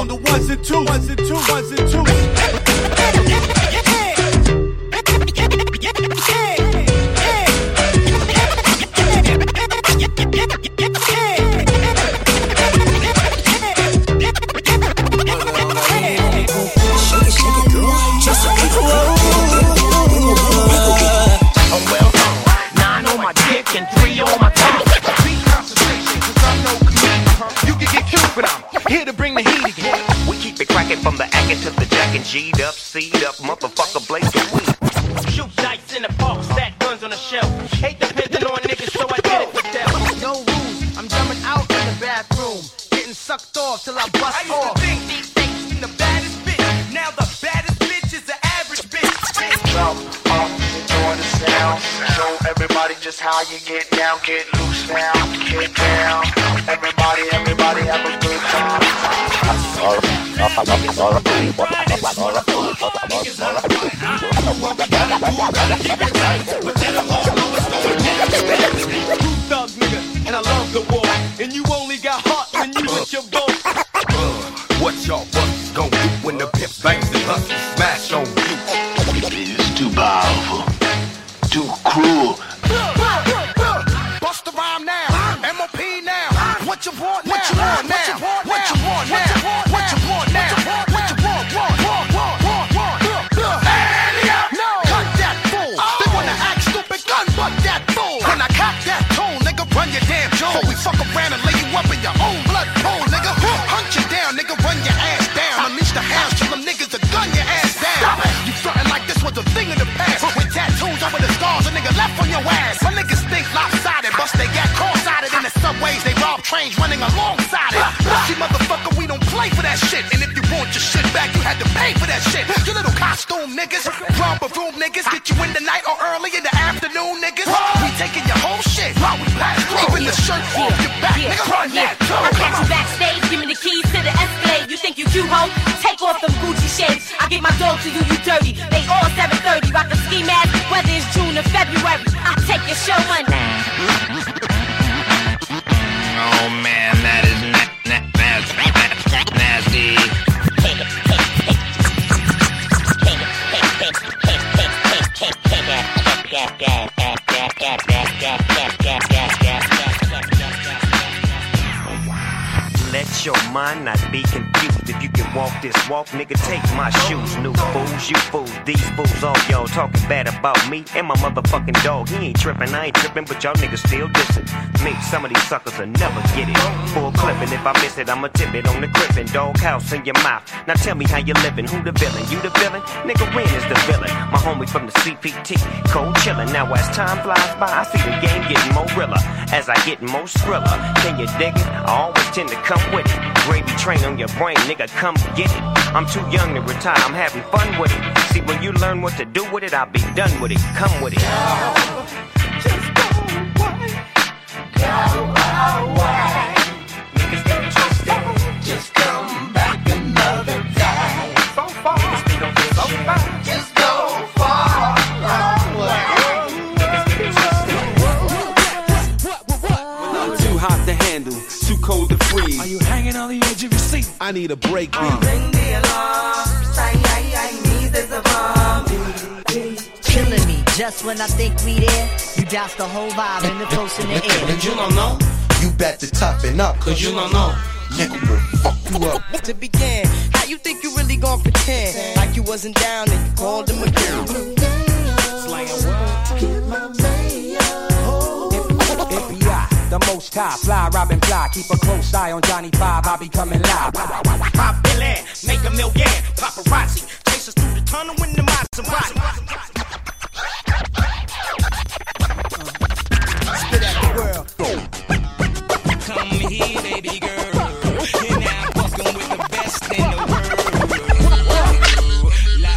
on the ones and twos, ones and twos, ones and twos. From the acting to the jacking, G'd up, C'd up, motherfucker, blaze the weed. Shoot dice in the park, stack guns on the shelf. Hate depending on niggas, so I did it for them. No rules, I'm jumping out in the bathroom, getting sucked off till I bust I used off. to think these days the baddest bitch. Now the baddest bitch is the average bitch. Jump up, enjoy the sound. Show everybody just how you get down. Get loose now, get down. Everybody have a good time. Thug nigga, and I love the war. And you only got heart when you with your boat. What y'all bucks gon' do when the pimps bangs and hustlers smash on you? It's too powerful, too cruel. Bust the rhyme now, MOP now. What you want now? What you want now? What you want now? What you want now? What you want? No, cut that fool. They wanna act stupid, gun butt that fool. When I cock that tone, nigga, run your damn jaw. So we fuck around and lay you up in your own blood pool, nigga. Hunt you down, nigga, run your ass down. Unleash the hounds, till them niggas to gun your ass down. You frontin' like this was a thing of the past. With tattoos over the scars, a nigga left on your ass. Some niggas think lopsided, bust they got cross-sided in the subways. They rob trains running alongside it. See, motherfucker, we don't play for that shit. And if you want your shit back, you had to pay for that shit. You little costume niggas, romper room niggas, get you in the night or early in the afternoon niggas. We taking your whole shit while we pass through. Even the shirt off your back, nigga, run that too. I catch you backstage, give me the keys to the Escalade. You think you cute, ho? Take off them Gucci shades. I give my dog to you, you dirty. They all 730, rock a ski mask, whether it's June or February. I take your show money. Oh man, that is nasty. Let your mind not be confused. If you can walk this walk, nigga, take my shoes. New fools, you fools, these fools, all y'all talking bad about me and my motherfucking dog. He ain't tripping, I ain't tripping, but y'all niggas still dissing me. Some of these suckers will never get it. Full clipping, if I miss it, I'ma tip it on the crippin'. Dog house in your mouth. Now tell me how you living, who the villain? You the villain? Nigga, Ren is the villain. My homie from the CPT, cold chillin'. Now as time flies by, I see the game getting more realer as I get more thriller. Can you dig it? I always tend to come with it. Gravy train on your brain, nigga, come get it. I'm too young to retire, I'm having fun with it. See, when you learn what to do with it, I'll be done with it. Come with it. Just go away. Go away. Niggas get twisted. Just come back another day. So far. So far. Just go far away. Too hot to handle, too cold to freeze. Are you hanging on the edge of your seat? I need a break. Ring the alarm. I need this bomb. Killing me just when I think we there. You douse the whole vibe and the toast in the air. And you don't know? You bet to toughen up, cause you don't know. Nigga will fuck you up. To begin, how you think you really gon' pretend like you wasn't down and you called him again? The most high, fly, Robin fly. Keep a close eye on Johnny 5, I'll be coming live. Pop Billy, make a million. Paparazzi, chase us through the tunnel in the Maserati. Spit at the world. Come here, baby girl. And I'm fucking with the best in the world.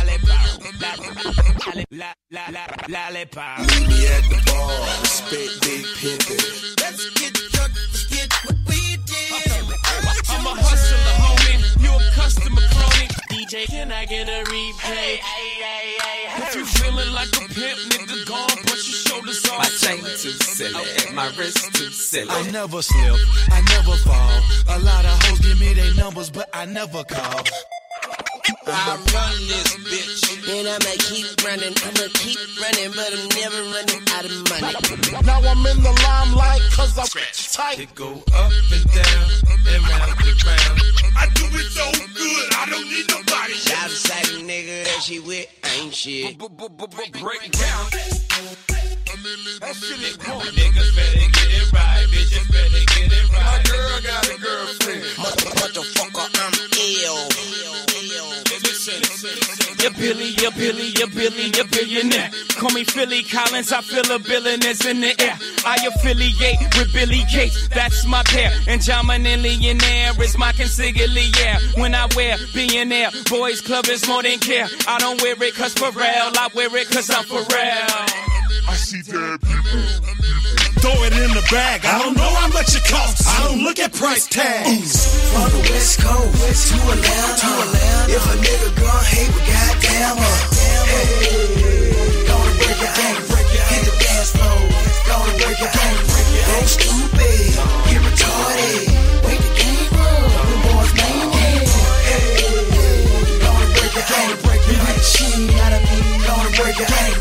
Lollipop. Meet me at the bar, spit big pimpin'. Let's get what we did. I'm a hustler, homie. You a customer, crony. DJ, can I get a replay? If you feeling like a pimp, nigga, go on, push your shoulders off. My chain too silly, my wrist too silly. I never slip, I never fall. A lot of hoes give me their number numbers, but I never call. I run this bitch, and I'ma keep running. I'ma keep running, but I'm never running out of money. Now I'm in the limelight, cause I'm tight. It go up and down, and round and round. I do it so good, I don't need nobody. Shout out to nigga that she with ain't shit. Break down. That shit is cool. Niggas better get it right, bitches better get it right. My girl got a girlfriend. Motherfucker, I'm ill. You're Billy, you're Billy, you're Billy, you're billionaire. Call me Philly Collins, I feel a billionaires in the air. I affiliate with Billy Gates, that's my pair. And John Millionaire is my consigliere. Yeah. When I wear billionaire, boys club is more than care. I don't wear it cause for real, I wear it cause I'm for real. I see dead people. Throw it in the bag. I don't know how much it costs. I don't look at price tags. From the West Coast to Atlanta. If a nigga gon' hate, we goddamn hey, gonna break your game. Hit the dance floor. Gonna break your game. Go stupid. Get retarded. Wake the game up. The boys main game. Hey, gonna break your game. We with the shit out of me. Gonna break your game.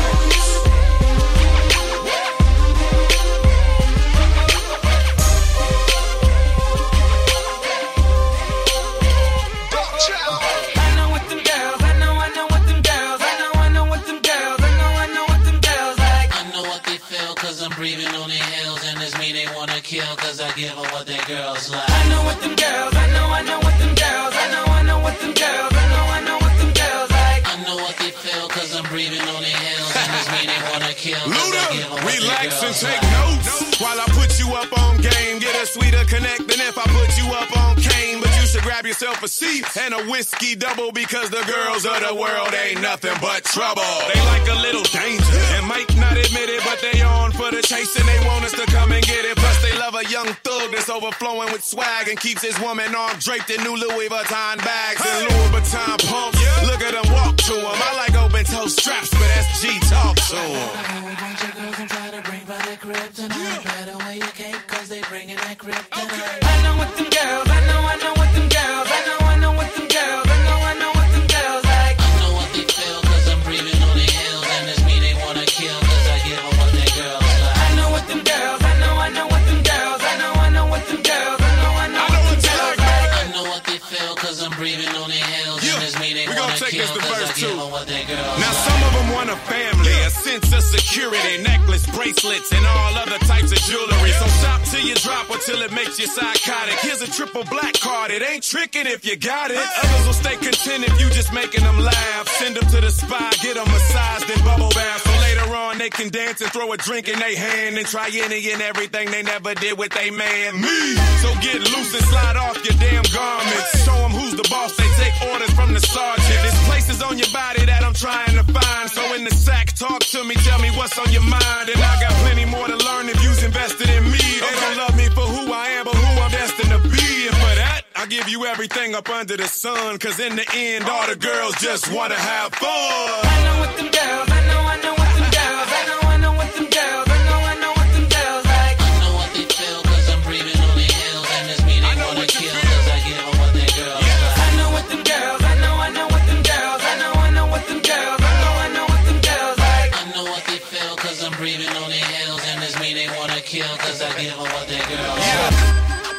Breathing on their heels, and it's me they wanna kill, cause I give them what their girls like. I know what them girls, I know what them girls, I know what them girls, I know what them girls like. I know what they feel, cause I'm breathing on their heels, and it's me they wanna kill, cause Luda, I give them what relax their and girls take like. notes while I put you up on game. Get a sweeter connect than if I put you up on cane. But you should grab yourself a seat and a whiskey double, because the girls of the world ain't nothing but trouble. They like a little danger and might not admit it, but they on for the chase and they want us to come and get it. Plus they love a young thug that's overflowing with swag and keeps his woman arm draped in new Louis Vuitton bags and Louis Vuitton pumps. Look at them walk to him. I like open toe straps, but that's G talk to him. A bunch of girls and try to bring by their kryptonite. Better wear your cape, cause they bringing that kryptonite. I know what them girls, I know what them girls, I know what them girls, I know what them girls like. I know what they feel, cause I'm breathing on their heels, and it's me they wanna kill, cause I give them what their girls like. I know what them girls, I know what them girls, I know what them girls, I know what them girls like. I know what they feel, cause I'm breathing on their heels, and it's me they wanna kill, cause I give them what their girls like. Now some of them want a family, a sense of security, necklace, bracelets, and all other types of jewelry. So shop till you drop or till it makes you psychotic. Here's a triple black card, it ain't tricking if you got it. Others will stay content if you just making them laugh. Send them to the spa, get them massaged and bubble bath. So later on they can dance and throw a drink in their hand and try any and everything they never did with they man. Me! So get loose and slide off your damn garments. Show them who's the boss, they take orders from the sergeant. There's places on your body that I'm trying to find. So in the sack, talk to me, tell me what's on your mind. And I got plenty more to learn if you's invested in me. They don't love me for who I am, but who I'm destined to be. And for that, I give you everything up under the sun. Cause in the end, all the girls just wanna have fun. I know what them girls, I know what them girls, I know what them girls, I know what them girls like. I know what they feel, cause I'm breathing on their heels, and it's me they wanna kill, cause I give them what their girls like. I know what them girls, I know what them girls, I know what them girls, I know what them girls like. I know what they feel, cause I'm breathing on their heels, and it's me they wanna kill, cause I give them what their girls like.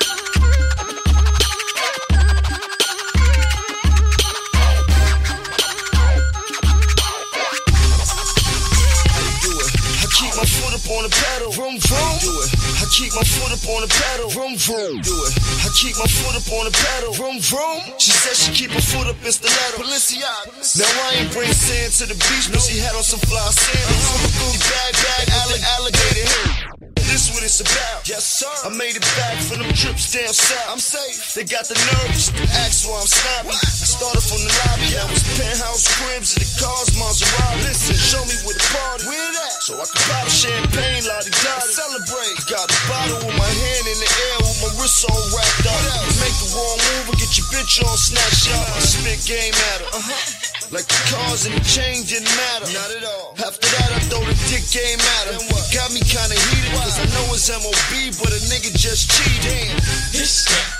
My foot up on the pedal, vroom vroom. Do it. I keep my foot up on the pedal, vroom vroom. Do it. I keep my foot up on the pedal, vroom vroom. She said she keep her foot up in stiletto, Balenciaga. Now I ain't bring sand to the beach, but she had on some fly sandals. Bag, alligator hair. This what it's about. Yes, sir. I made it back for them trips down south. I'm safe. They got the nerves to ask why I'm snappy. I started from the lobby. I was penthouse cribs and the cars, Maserati. Listen, show me where the party. Where that? So I can bottle champagne, lottie-dottie. Celebrate. Got a bottle with my hand in the air with my wrist all wrapped up. Make the wrong move and get your bitch on snapshot. I spit game at her. Like the cars and the chain didn't matter. Not at all. After that, I throw the dick game at her. Got me kinda heated, cause I know it's MOB, but a nigga just cheated. This that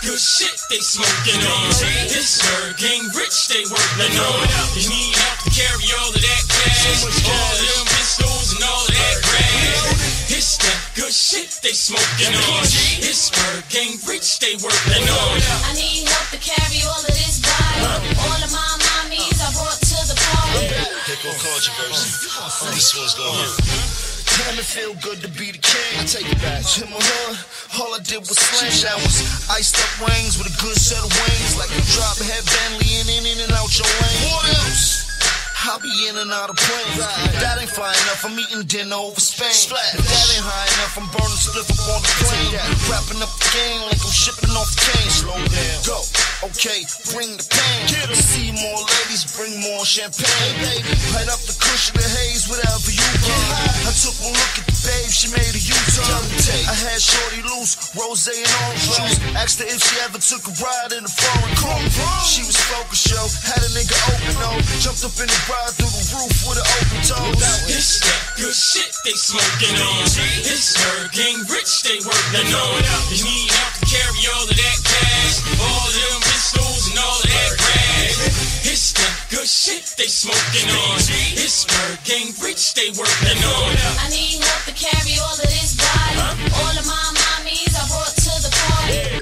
good shit they smoking on. This Bird Gang rich, they working on. You need help to carry all of that cash, all of them pistols and all of that grass. It's that good shit they smoking on. This Bird Gang rich, they working on. I need help to carry all of this body. All of my mommies I brought to the party. Here go controversy. This one's gonna hurt. Damn, it feel good to be the king. I take it back. In my hood, all I did was slam showers. Iced up wings with a good set of wings. Like a drop head Bentley in and out your lane. What else? I'll be in and out of planes. That ain't fly enough, I'm eating dinner over Spain. If that ain't high enough, I'm burning spliff up on the plane. Wrapping up the game like I'm shipping off the cane. Slow down, go, okay, bring the pain. See more ladies, bring more champagne. Light up the cushion, the haze, whatever you want. I took one look at the babe, she made a U-turn. I had shorty loose, rosé and orange juice. Asked her if she ever took a ride in a foreign car. She was focused, yo, had a nigga open, though. Jumped up in the ride through the roof with an open toe. This that good shit they smoking on. This Bird Gang rich, they working on. You need help to carry all of that cash, all of them pistols and all of that grass. It's that good shit they smoking on. This Bird Gang rich, they working on. I need help to carry all of this body. All of my mommies I brought to the party.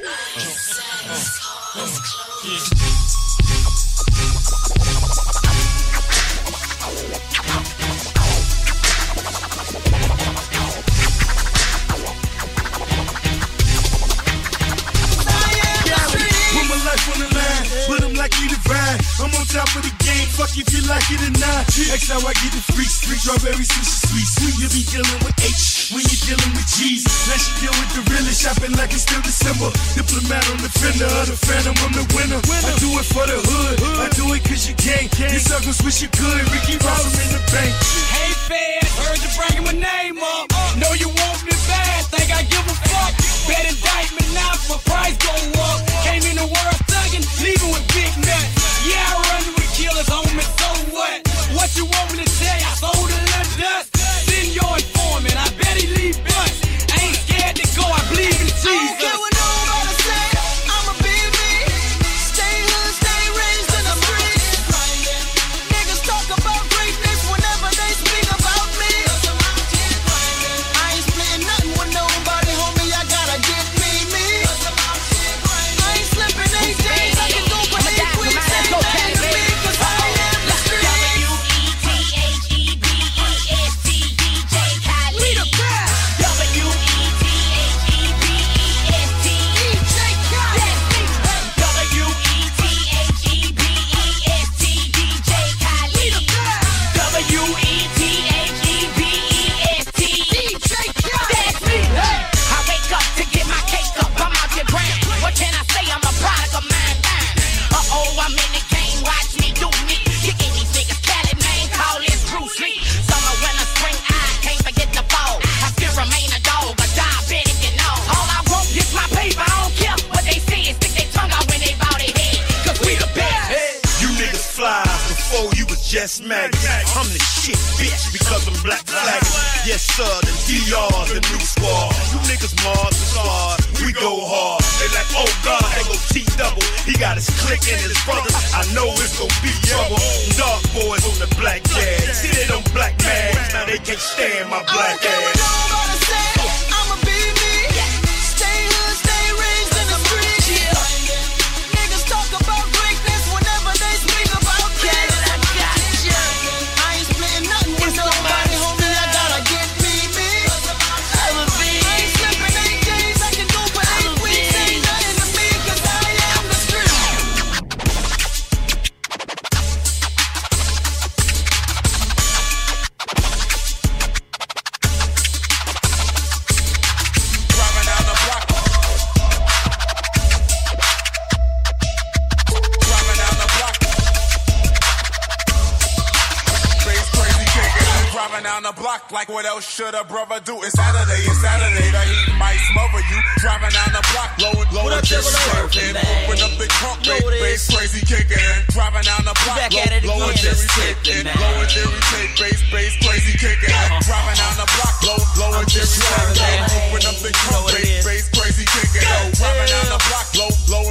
On the line, but I'm likely to ride. I'm on top of the game, fuck if you like it or not. That's how I get the freaks, strawberry sushi sweet. You be dealing with H when you're dealing with G's. Now she deal with the realest, shopping like it's still December. Diplomat on the fender of the phantom, I'm the winner. I do it for the hood, I do it cause you can't. You suckers wish you could, Ricky Ross, I'm in the bank. Hey fans, heard you bringing my name up. Know you want me bad, think I give a fuck. Bet indictment now, my price go up. Came in the world thuggin', leaving with big nuts. Yeah, I run with killers, homie, so what? What you want me to tell you? I sold a little dust. Send your informant, I bet he leave bust. I ain't scared to go, I believe in Jesus. I don't care what nobody say, I'ma be me. Stay hood, stay raised in the streets. Niggas talk about greatness whenever they speak about me. I ain't splitting nothing with nobody, homie, I gotta get me. I ain't slipping 8 days, I can go for 8 weeks. Ain't nothing to me, cause I am the street. We the best. Just maggots. I'm the shit, bitch, because I'm black flagging. Yes, sir, the DR's the new squad. You niggas Mars and stars, we go hard. They like, oh God, they go T-double. He got his clique and his brothers. I know it's gonna be trouble. Dark boys on the black jazz. See, they don't black mags. Now they can't stand my black ass. I'ma be me. Stay hood, stay raised in the streets. Niggas talk about greatness whenever they speak about me. I ain't splitting nothing with nobody, homie. I gotta get me. I ain't slipping 8 days, I can go for 8 weeks. Ain't nothing to me, cause I am the street. Down the block, like what else should a brother do? It's Saturday, the heat might smother you. Driving down the block, blowing just swerving. Open up the trunk, bass crazy kicking. Driving down the block, blowing Jerry tape. Blowing Jerry tape, bass crazy kicking. Driving down the block, blowing Jerry tape. Open up the trunk, bass crazy kicking. Driving down the block, blowing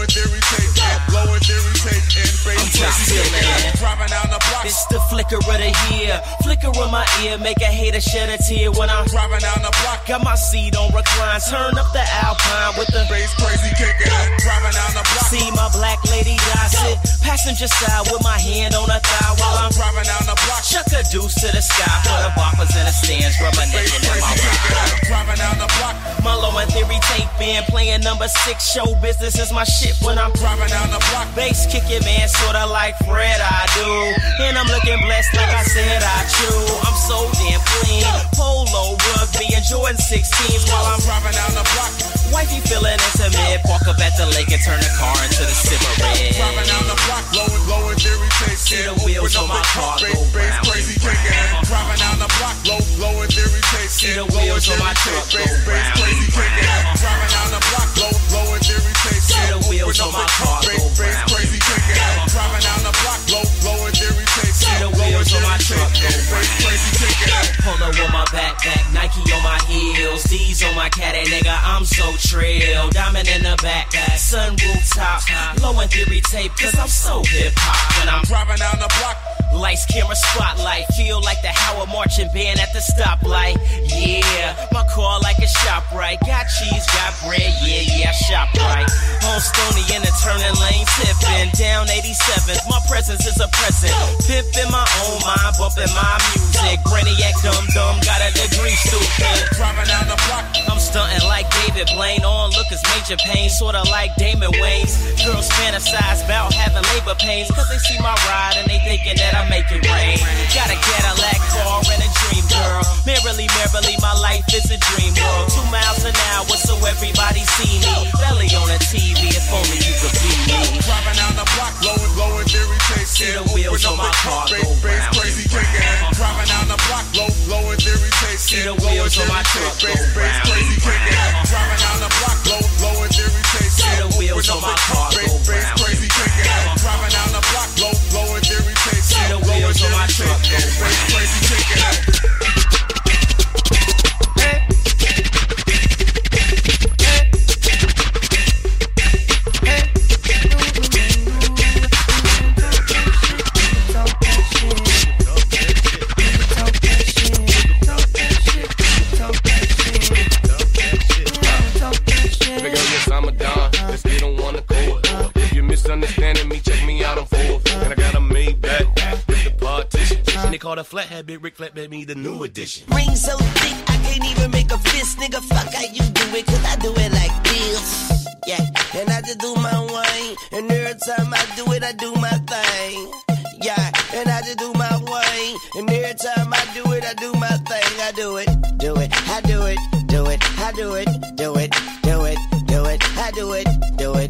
liquor of the year. Flicker of my ear, make a hater shed a tear when I'm driving down the block. Got my seat on recline, turn up the Alpine with the bass crazy kicking up. Driving down the block. See my black lady die, sit passenger side with my hand on her thigh while I'm driving down the block. Chuck a deuce to the sky for the boppers in the stands, reminiscing in my ride. Driving down the block. My Low and Theory tape band playing number 6. Show business is my shit when I'm driving down the block. Bass kicking, man, sorta like Fred I do. And I'm looking blessed like I said I chew. I'm so damn clean. Polo, rugby, and Jordan 16s while I'm driving down the block. Wifey feeling intimate. Park up at the lake and turn the car into the Cimarron. Driving down the block, Low and Theory tape. See the wheels on my car go round. Crazy kicking. Driving down the block, Low and Theory tape. See the wheels on my truck go round. Crazy kicking. Driving down the block, Low and Theory tape. See the wheels on my car go round. Crazy kicking. Driving down the block, Low and Theory tape. See the wheels on my truck go round. Crazy kicking. Polo on my backpack, Nike on my heels, D's on my caddy, nigga. I'm so trill. Diamond in the back, sunroof top, Low and Theory tape, cause I'm so hip hop. When I'm driving down the block, lights, camera, spotlight, feel like the Howard marching band at the stoplight. Yeah, my car like a ShopRite. Got cheese, got bread, yeah, shop right. On Stony in the turning lane, tipping down 87th. My presence is a present. Pip in my own mind, bumping my music. Brainiac dumb, got a degree, stupid. Driving down the block, I'm stunting like David Blaine. On look is Major Pain, sorta like Damon Wayans. Girls fantasize about having labor pains, cause they see my ride and they thinking that I make it rain. Got a Cadillac car and a dream girl. Merrily, my life is a dream world. 2 miles an hour so everybody see me. Belly on the TV, if only you could be me. Driving down the block, Low and Theory tape. See the wheels on my car go round. Crazy kicking. Driving down the block, Low and Theory tape. See the wheels on my truck go round. Crazy kicking. Driving down the block, Low and Theory tape. See the wheels on my car go round. Crazy kicking. Driving down the block, Low and Theory tape. See the wheels on my truck go round. Crazy kicking. Understanding me, check me out on Forbes. And I got a Maybach with the partition. And they call the flathead Big Rick Flatbed me the new edition. Ring so thick, I can't even make a fist. Nigga, fuck how you do it, cause I do it like this. Yeah, and I just do my wine. And every time I do it, I do my thing. Yeah, and I just do my wine. And every time I do it, I do my thing. I do it, I do it, I do it, I do it, I do it, I do it, I do it, do it.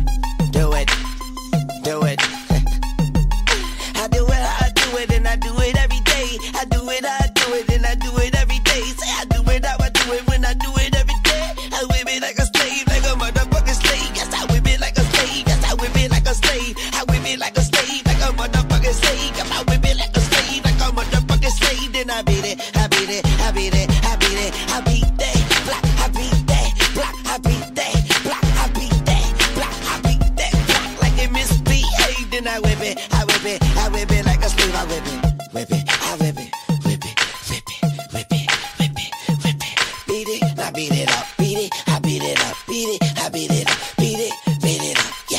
I do it, and I do it every day. I do it, and I do it every day. Say I do it, how I do it when I do it every day. I whip it like a slave, like a motherfucking slave. Yes, I whip it like a slave. Yes, I whip it like a slave. I whip it like a slave, like a motherfucking slave. Yes, I whip it like a slave, like a motherfucking slave. Then I beat it, I beat it, I beat it, I beat it, I beat that block, I beat that block, I beat that block, I beat that block, I beat that block like it misbehaved. Then I whip it, I whip it, I whip it like a slave. I whip it, whip it, I whip it, whip it, whip it, whip it, whip it, whip it. Beat it, I beat it up, beat it, I beat it up, beat it, I beat it up, beat it up, yeah.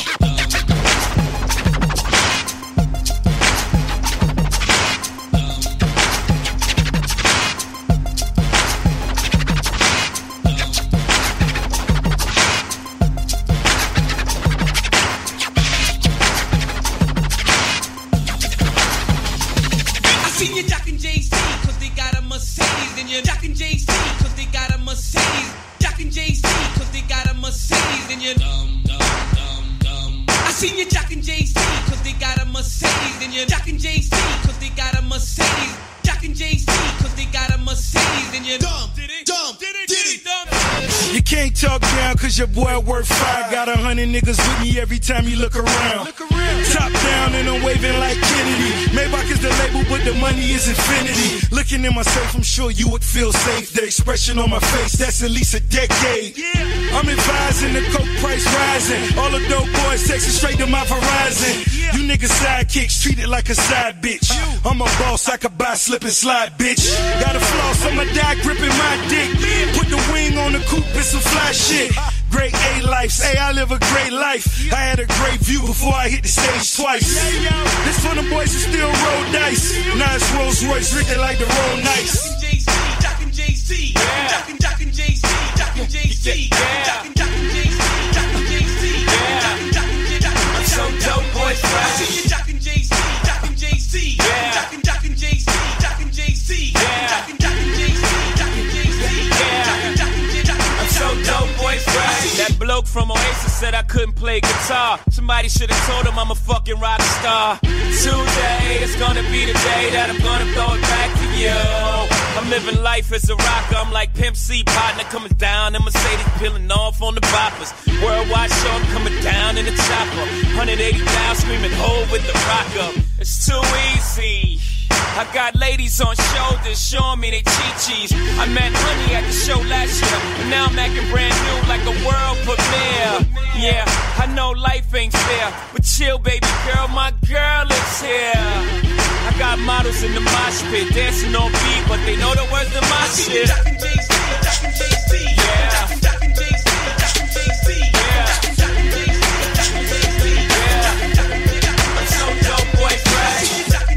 See you jockin' JC, cause they got a Mercedes. And you're jockin' JC, cause they got a Mercedes. Jockin' JC, cause they got a Mercedes. And you're dumb. I see you jockin' JC, cause they got a Mercedes. And you're jockin' JC, cause they got a Mercedes. Jockin' JC, cause they got a Mercedes. And you're dumb. Did it? You can't talk down cause your boy worth fire. Got 100 niggas with me every time you look around. Top down and I'm waving like Kennedy. Maybach is the label but the money is infinity. Looking in myself I'm sure you would feel safe. The expression on my face, that's at least a decade. I'm advising the coke price rising. All the dope boys texting straight to my Verizon. You niggas sidekicks treated like a side bitch. I'm a boss, I could buy, slip and slide, bitch. Got a floss, I'ma die gripping my dick. Put the wing on the coupe, it's some fly shit. Great A life, hey, I live a great life. I had a great view before I hit the stage twice. This for the boys who still roll dice. Now it's Rolls Royce, Rick, they like to roll nice. Jockin' JC, Jockin' JC, Jockin' JC, Jockin' JC, Jockin' JC, I'm so dope, boys, right? Jockin' JC, Jockin' JC, Jockin' JC, Jockin' JC, Jockin' JC, Jockin' JC, I'm so dope, boys, right? That bloke from Oasis said I couldn't play guitar. Somebody should have told him I'm a fucking rock star. Today is gonna be the day that I'm gonna throw it back to you. I'm living life as a rocker. I'm like Pimp C, partner coming down in Mercedes, peeling off on the boppers. Worldwide show, I'm coming down in the chopper. 180 down, screaming ho with the rock up. It's too easy. I got ladies on shoulders showing me they chi-chis. I met Honey at the show last year, and now I'm acting brand new like a world premiere. Yeah, I know life ain't fair, but chill, baby girl, my girl is here. I got models in the mosh pit, dancing on beat, but they know the words to my shit. Yeah. I'm so dope, boys, right?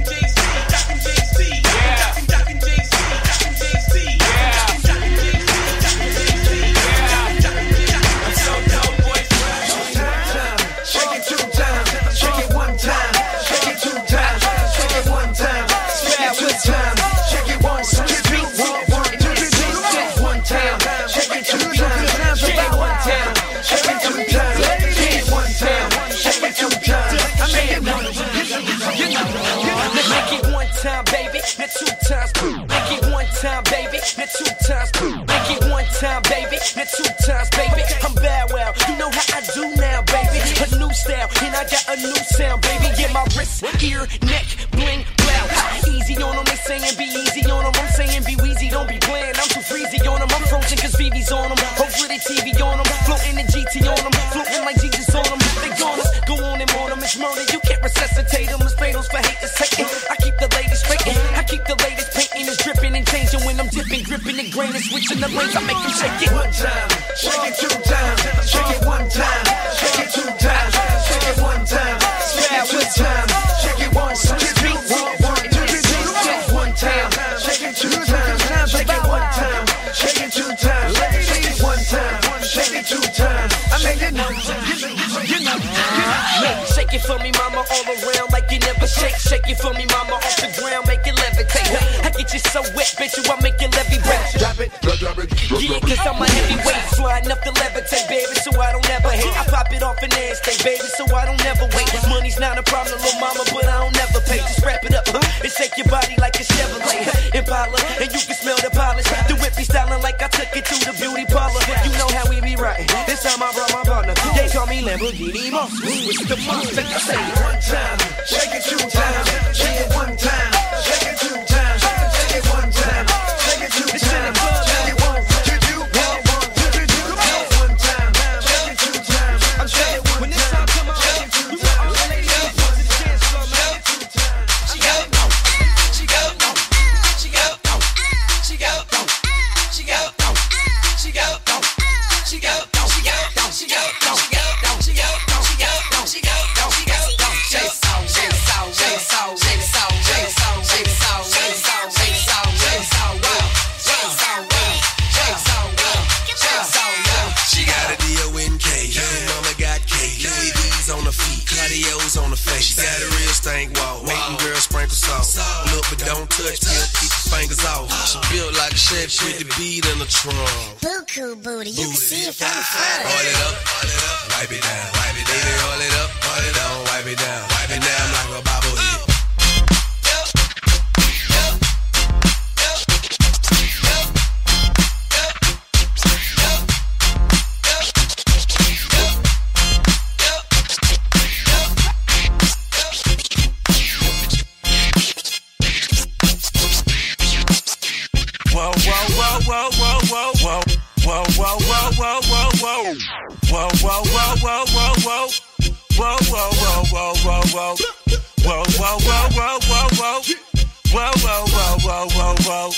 Time, baby, then 2 times. Make it 1 time, baby, then 2 times. Make it 1 time, baby, then 2 times, baby. I'm bad, well, you know how I do now, baby. A new style, and I got a new sound, baby. Yeah, my wrist, ear, neck, bling, blow. Easy on them, they saying be easy on them. I'm saying be wheezy, don't be bland. I'm too freezy on them. I'm frozen cause VV's on them. Over the TV on them. Floating the GT on them. Floating like Jesus on them. They gone us, go on and on them. It's murder, you can't resuscitate them. It's fatal for haters taking. I keep the ladies straighten. I keep the latest painting is dripping and changing when I'm dipping, gripping the grain and switching the lanes. I make them shake it 1 time, shake it 2 times, shake it 1 time, shake it 2 times, shake it 1 time, shake it 2 times, shake it 1 time, shake it 1 time, shake it 2 times, shake it 1 time, shake it 2 times, shake it 1 time, shake it 2 times. I make it shake it for me, mama, all around like you never shake. Shake it for me, mama, off the ground, make it levitate. I get you so wet, bitch, you I make it levy break. Drop it, yeah, cause I'm a heavyweight, sliding up the levitate, baby, so I don't ever hate. I pop it off an airstay, baby, so I don't never wait. Money's not a problem, little mama, but I don't never pay. Just wrap it up, and shake your body like a Chevrolet Impala, and you can smell the polish. The whip be styling like I took it to the beauty parlor. You know how we be riding. This time I brought my partner. They call me Lamborghini Monster. It's the monster. I say it 1 time, shake it 2 times, shake it 1 time, shake it 2 times, shake it 1 time, shake it 2 times, shake it 1 time, shake it 1 time, shake it 2 times. I'm shake it when this time come on. You want all the ladies to the dance floor, man. She go, she go, she go, she go, she go, she go, she go, she go, she go. Cardio's on the face. She got a real stank walk. Make them girls sprinkle salt. Look but don't touch till keep your fingers off. She built like a chef with the beat in the trunk. Buku booty, you can see it from the front. Roll it up, wipe it down. Baby, roll it up, wipe it down. Wipe it down like a bobblehead. Whoa, whoa, whoa, whoa, whoa, whoa, whoa. Whoa, whoa, whoa, whoa, whoa, whoa. Whoa, whoa, whoa, whoa, whoa, whoa. Whoa, whoa, whoa, whoa, whoa, whoa. Whoa, whoa, whoa, whoa, whoa, whoa. Whoa, whoa, whoa, whoa, whoa, whoa.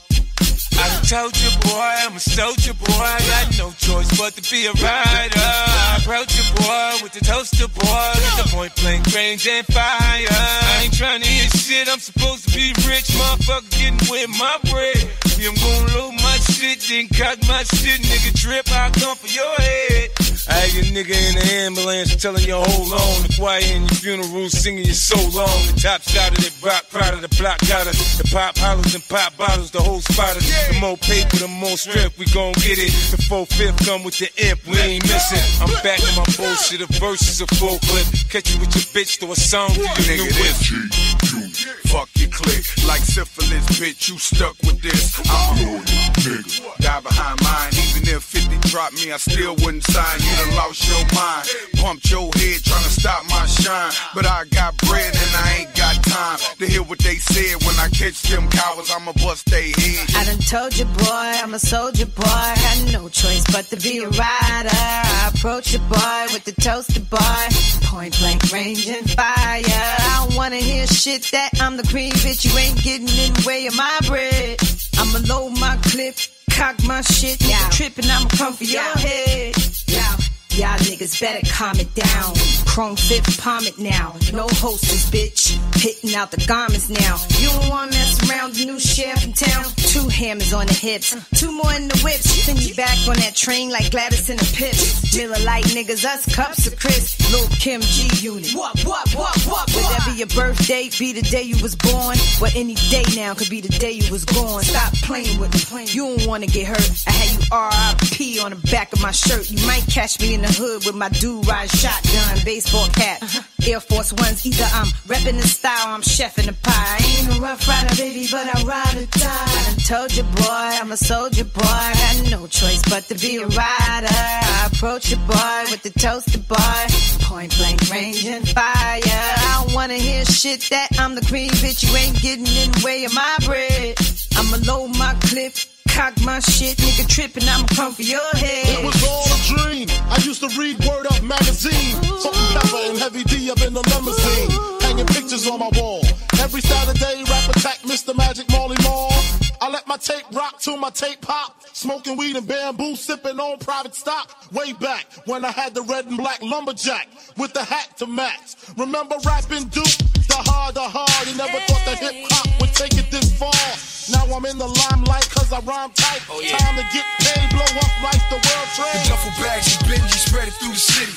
I done told you, boy, I'm a soldier, boy. I got no choice but to be a rider. I approach you, boy, with the toaster, boy. With the point blank range and fire. I ain't trying to hear shit, I'm supposed to be rich. Motherfucker getting with my bread. See, I'm gon' load my shit, then cock my shit. Nigga trip, I'll come for your head. I had your nigga in the ambulance telling you hold on. The choir in your funeral singing you so long. The top shot of that rock, proud of the block, got us. The pop hollers and pop bottles, the whole spot us. The more paper, the more strength, we gon' get it. The 4/5 come with the imp, we ain't missing. I'm back in my bullshit, a verse is a full clip. Catch you with your bitch, throw a song to your new whip. Fuck your click, like syphilis, bitch, you stuck with this. I'm a loyal nigga, die behind mine. Even if 50 dropped me, I still wouldn't sign. You done lost your mind, pumped your head trying to stop my shine. But I got bread and I ain't got time to hear what they said. When I catch them cowards, I'ma bust they head. I done told you, boy, I'm a soldier, boy. Got no choice but to be a rider. I approach you, boy, with the toaster, boy. Point blank range and fire. I don't wanna hear shit that I'm the cream, bitch. You ain't getting in the way of my bread. I'ma load my clip, cock my shit. Nigga trippin', I'ma come for your head. Y'all niggas better calm it down. Chrome fifth, palm it now. No hostess, bitch. Hitting out the garments now. You don't wanna mess around the new sheriff in town. 2 hammers on the hips, 2 more in the whips. Send you back on that train like Gladys in the Pips. Miller Lite niggas, us cups of Chris. Lil' Kim G Unit. What? Whatever your birthday, be the day you was born. But any day now could be the day you was gone. Stop playing with me. You don't wanna get hurt. I had you R.I.P. on the back of my shirt. You might catch me in the hood with my do-ride shotgun, baseball cap, Air Force Ones. Either I'm reppin' the style or I'm chefing the pie. I ain't a rough rider, baby, but I ride or die. I done told you, boy, I'm a soldier, boy. Got no choice but to be a rider. I approach you, boy, with the toaster, boy. Point blank range and fire. I don't wanna hear shit that I'm the cream, bitch. You ain't getting in the way of my bread. I'ma load my clip, cock my shit, nigga trippin', I'ma come for your head. It was all a dream. I used to read Word Up magazine. Salt and pepper and Heavy D up in the limousine. Hanging pictures on my wall. Every Saturday, rap attack Mr. Magic Marley Marl. I let my tape rock till my tape pop. Smoking weed and bamboo, sipping on private stock. Way back when I had the red and black lumberjack with the hat to match. Remember rapping Duke? The hard. You never thought that hip hop would take it this far. Now I'm in the limelight cause I rhyme tight. Time to get paid, blow up like the world trade. The duffel bags and Benji spread it through the city.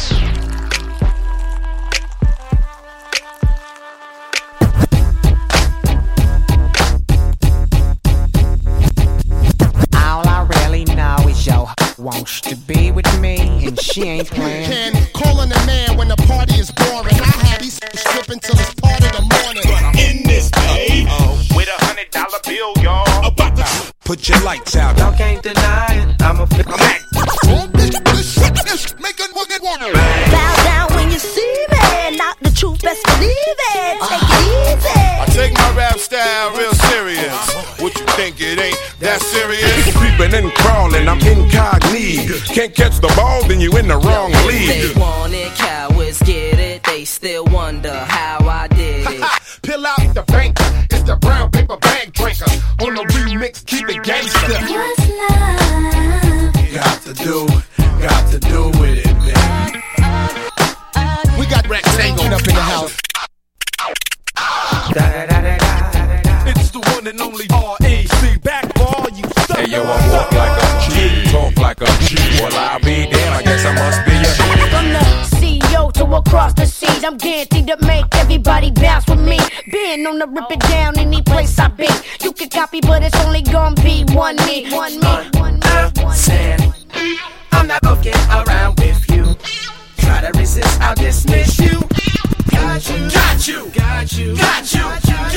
All I really know is yo wants to be with me and she ain't playing. Can calling a man when the party is boring. I had these stripping till it's part of the morning. But I'm in this day with $100 bill, y'all. About to put your lights out. Y'all can't deny it. I'm a Make it work it one. Bow down when you see me. Not the truth, best believe it. Take it easy. I take my rap style real serious. What you think it ain't that serious? Creeping and crawling, I'm incognito. Can't catch the ball, then you in the wrong league. They want it, cowards get it. They still wonder how I did it. Pill out the banker, it's the brown paper bag drinker. On the remix, keep it gangster. Got to do with it, man. We got rectangle up in the house. It's the one and only R.A.C. Back for all you suckers. Hey yo, I walk like a G, talk like a G. Well, I'll be damn, I guess I must be a From the CEO to across the seas, I'm guaranteed to make everybody bounce with me. Been on the rip it down any place I be. You can copy, but it's only gonna be one me. I'm not looking around with you. Try to resist, I'll dismiss you. Got you, got you, got you, got you, got you,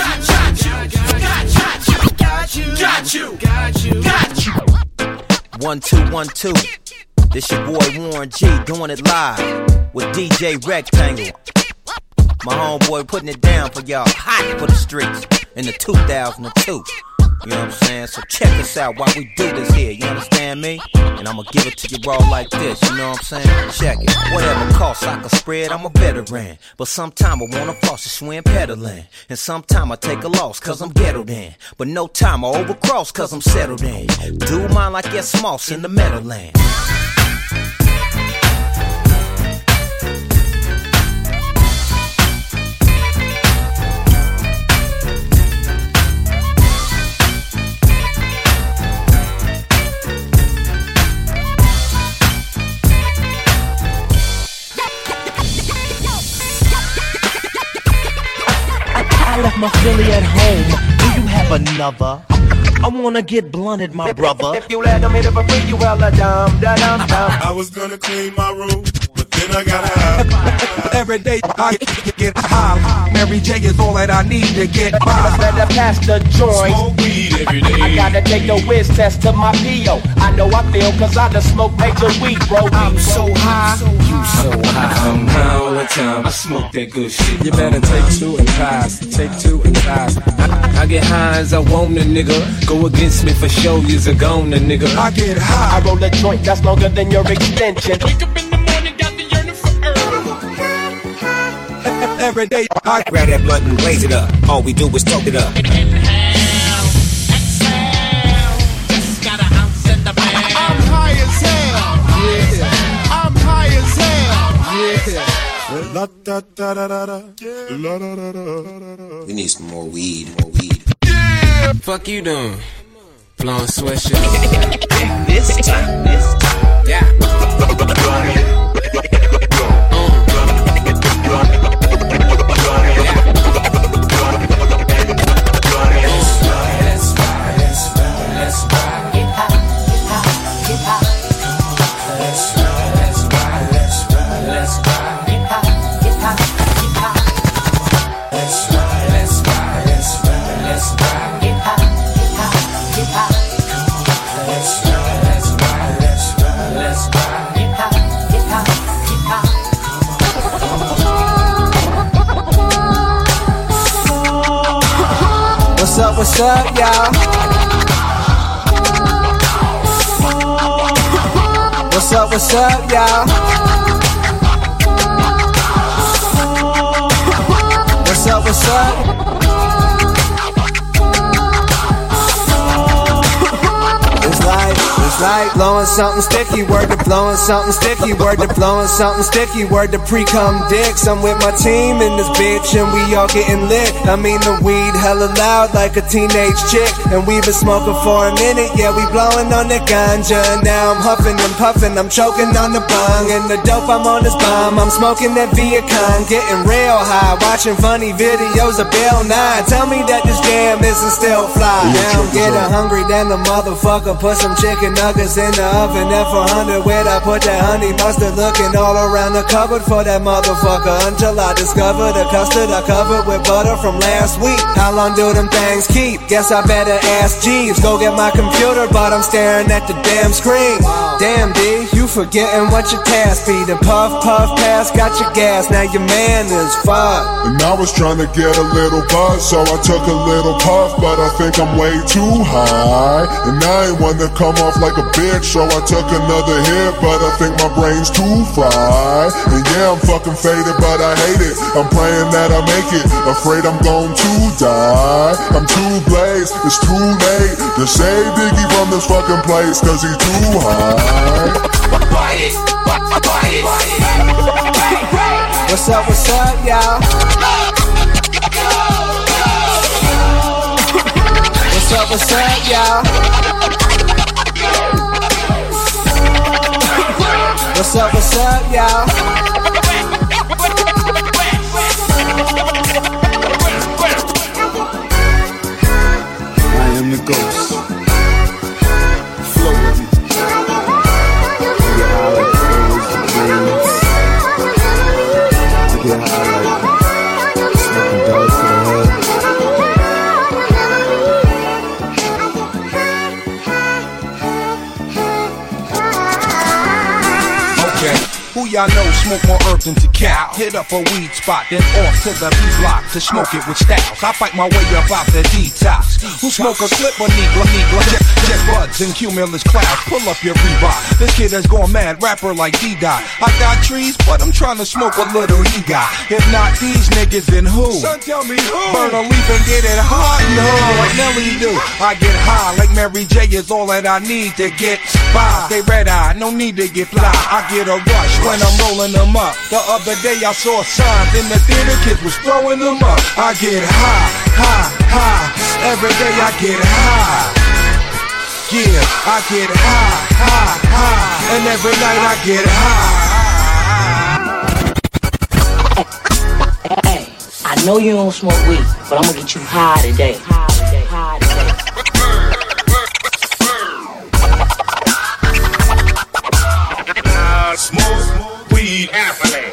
got you, got you, got you, got you. 1 2 1 2. This your boy Warren G doing it live with DJ Rectangle. My homeboy putting it down for y'all, hot for the streets in the 2002. You know what I'm saying? So check us out while we do this here, you understand me? And I'ma give it to you raw like this, you know what I'm saying? Check it. Whatever costs I can spread, I'm a veteran. But sometime I wanna floss, just swim peddling. And sometime I take a loss, cause I'm ghettoed in. But no time I overcross, cause I'm settled in. Do mine like S. Moss in the Meadowland. I left my Philly at home. Do you have another? I wanna get blunted, my brother. If you let them hit it for free, you hella dumb, da-dum, dumb. I was gonna clean my room, but then I got high. Every day I get high. Mary J is all that I need to get by. Better pass the joint. Smoke weed every day. I gotta take a whiz test to my P.O. I know I feel cause I done smoked major weed, bro. I'm so high. You so high. I'm high all the time. I smoke that good shit. You better take two and pass. Take two and pass. I get high as I want a nigga. Go against me for show, you's a goner, nigga. I get high. I roll a joint that's longer than your extension. Wake up in the morning, got the yearning for earth. Every day I grab that blunt and blaze it up. All we do is talk it up. Inhale, exhale, just got an ounce in the bag. I'm high as hell. Yeah. I'm high as hell. Yeah. La da da da da da. La da da da da. We need some more weed. More weed. Yeah. Fuck you doing? Blowing sweatshirt. This time. Yeah. What's up, y'all? What's up, y'all? What's up? It's like blowing something sticky, word to blowing something sticky, word to blowing something sticky, word to pre-cum dicks. I'm with my team in this bitch and we all getting lit. I mean the weed hella loud like a teenage chick. And we been smoking for a minute, yeah, we blowing on the ganja. Now I'm huffing and puffing, I'm choking on the bong. And the dope, I'm on this bomb, I'm smoking that Viacom. Getting real high, watching funny videos of Bill Nye. Tell me that this jam isn't still fly. Now I'm getting hungry, then the motherfucker put some chicken nuggets in the oven. F400 where I put that honey mustard. Looking all around the cupboard for that motherfucker until I discovered the custard I covered with butter from last week. How long do them things keep? Guess I better ask Jeeves. Go get my computer, but I'm staring at the damn screen. Damn D, you forgetting what your task be. The puff pass got your gas. Now your man is fucked. And I was trying to get a little buzz, so I took a little puff, but I think I'm way too high. And I ain't want to come off like a bitch, so I took another hit, but I think my brain's too fried. And yeah, I'm fucking faded, but I hate it. I'm praying that I make it, afraid I'm going to die. I'm too blazed, it's too late to save Biggie from this fucking place, cause he's too high. What's up, y'all? What's up, y'all? What's up, y'all? I am the ghost. Flow with me. Get high like birds and dreams. Get high like smoking dope to the head. Who I know smoke more herb than Tikal. Hit up a weed spot, then off to the B-block to smoke it with styles. I fight my way up out the detox. Who smoke a slip or negro? Just buds and cumulus clouds. Pull up your Reebok. This kid has gone mad, rapper like D-Dot. I got trees, but I'm trying to smoke what little he got. If not these niggas, then who? Son, tell me who? Burn a leaf and get it hot. No, like Nelly do. I get high like Mary J is all that I need to get by. They red eye, no need to get fly. I get a rush when I'm rolling them up. The other day I saw signs in the theater, kids was throwing them up. I get high, high, high. Every day I get high. Yeah, I get high, high, high. And every night I get high. Hey, I know you don't smoke weed, but I'm gonna get you high today. Smoke weed happily.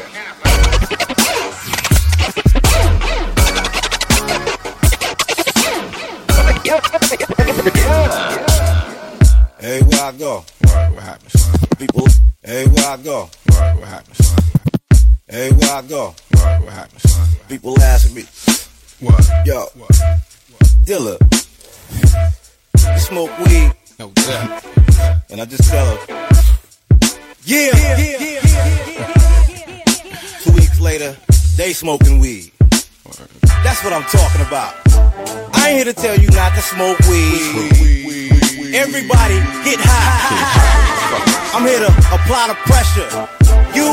Hey, where I go? What happens? People, hey, where I go? What happens? Hey, where I go? What happens? People ask me, what? Yo, Dilla, you smoke weed? No doubt. And I just tell her, yeah. 2 weeks later, they smoking weed. That's what I'm talking about. I ain't here to tell you not to smoke weed. Everybody get high. I'm here to apply the pressure. You,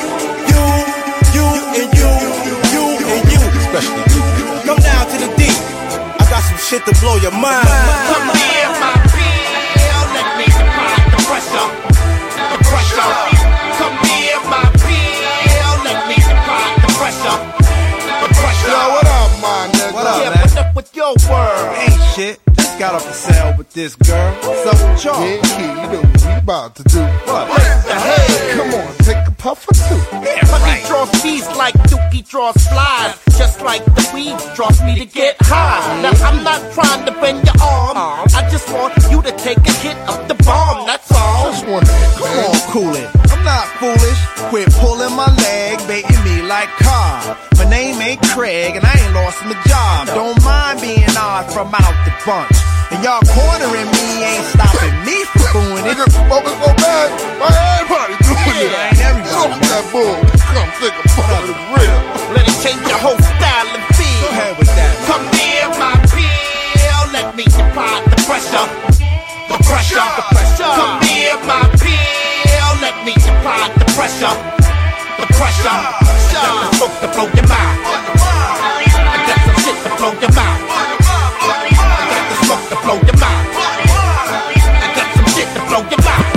and you. Especially you. Come down to the deep. I got some shit to blow your mind. Come here, my pill. Let me apply the pressure. The pressure. Come here, my pill. Let me apply the pressure. The pressure. Yo, what up, my nigga? What up, yeah, man? what's up with your word? Ain't shit. Just got off the cell with this girl. What's up with y'all? Yeah, kid, you know what we about to do. What? Come on, take a puff or two. Yeah, honey draws bees like Dookie draws flies. Just like the weed draws me to get high. Now I'm not trying to bend your arm. I just want you to take a hit of the bomb, that's all. Just one Come on, cool it. I'm not foolish. Quit pulling my leg, baiting me like Cobb. My name ain't Craig, and I ain't lost my job. Don't mind being odd from out the bunch. And y'all cornering me ain't stopping me from doing it. Nigga, smoking so bad, why everybody doing it? Ain't everybody. Smoke that bull. Come think about it, it's real. Let it change your whole style and feel. Go ahead with that. Come near my pill. Let me apply the pressure. The pressure. The pressure. Come near my pill. Let me apply the pressure. The pressure. I got the smoke to blow your mind. I got some shit to blow your mind. I got the smoke to blow your mind. I got some shit to blow your mind.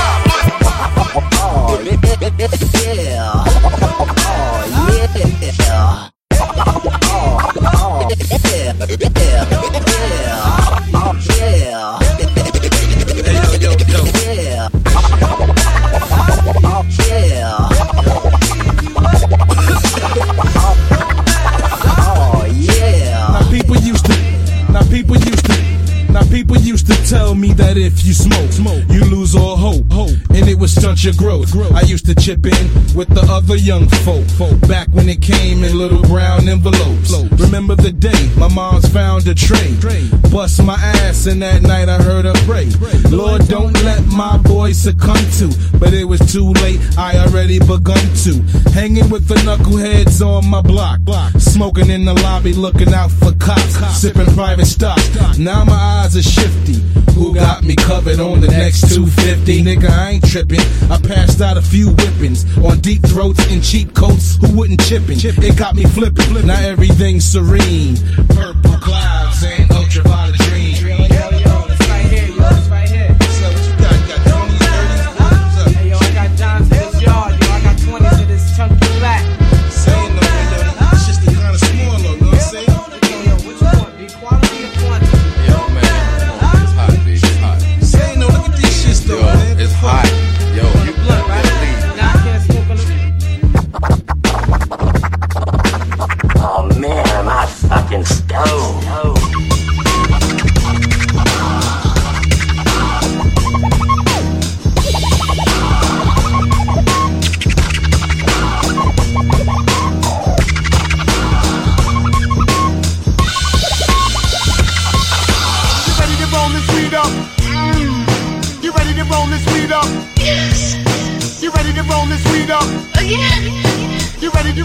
People used to tell me that if you smoke, you lose all hope, and it would stunt your growth. I used to chip in with the other young folk, back when it came in little brown envelopes. Remember the day my mom's found a tray, bust my ass, and that night I heard her pray, Lord, don't let my boy succumb to, but it was too late, I already begun to, hanging with the knuckleheads on my block, smoking in the lobby, looking out for cops, sipping private stock. Now my eyes are shifty. Who got me covered on the next 250? Nigga, I ain't tripping. I passed out a few whippings on deep throats and cheap coats who wouldn't chippin'. It got me flipping. Now everything's serene. Purple clouds and ultraviolet dreams.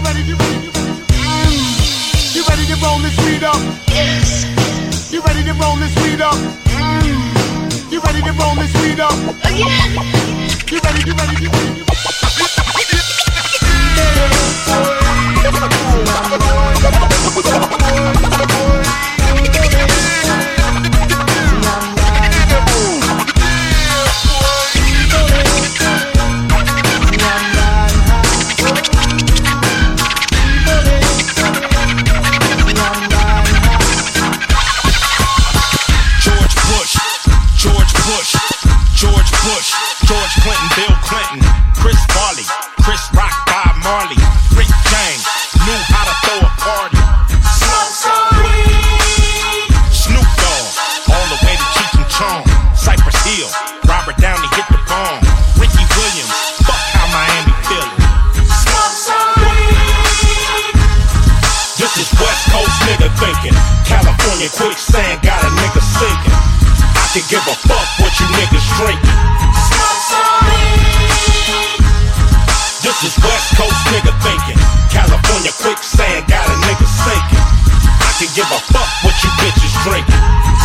You ready to roll this weed up? Yes. You ready to roll this weed up? You ready to roll this weed up? Again. You ready? George Clinton, Bill Clinton, Chris Farley, Chris Rock, Bob Marley, Rick James, knew how to throw a party. Smoke some weed. Snoop Dogg, all the way to Cheech and Chong, Cypress Hill, Robert Downey hit the bomb, Ricky Williams, fuck how Miami feelin'. Smoke some weed. This is West Coast nigga thinking, California quicksand got a nigga sinking. I can give a fuck what you niggas drinking. This is West Coast nigga thinking, California quicksand got a nigga sinking. I can give a fuck what you bitches drinking.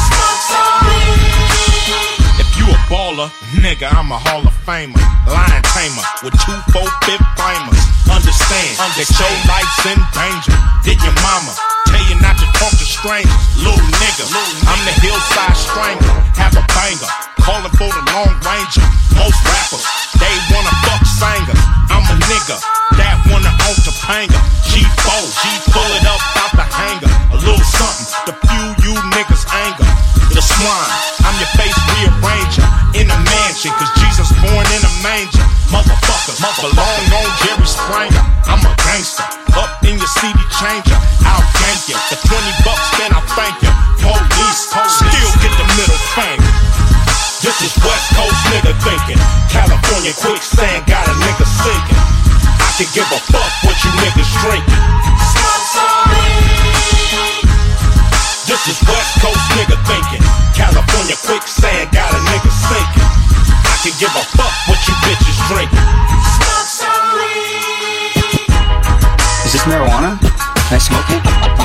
If you a baller, nigga, I'm a Hall of Famer, lion tamer with 2 4-5 flamers. Understand that your life's in danger. Did your mama tell you not to talk to strangers? Little nigga, I'm the hillside strangler. Have a banger, calling for the Long Ranger. Most rappers, they wanna fuck singers. I'm a nigga that wanna own Topanga. G4, pull it up out the hanger. A little something to fuel you niggas' anger. The swine, I'm your face rearranger. In a mansion, cause Jesus born in a manger. Motherfuckers, belong on Jerry Springer. I'm a gangster, up in your CD changer. I'll gank you, for $20 then I'll thank you. Police, still get the middle finger. This is West Coast nigga thinking, California quicksand got a nigga sinking. I can give a fuck what you niggas drinking. This is West Coast nigga thinking, California quicksand got a nigga sinking. I can give a fuck what you bitches drinking. Is this marijuana? Can I smoke it?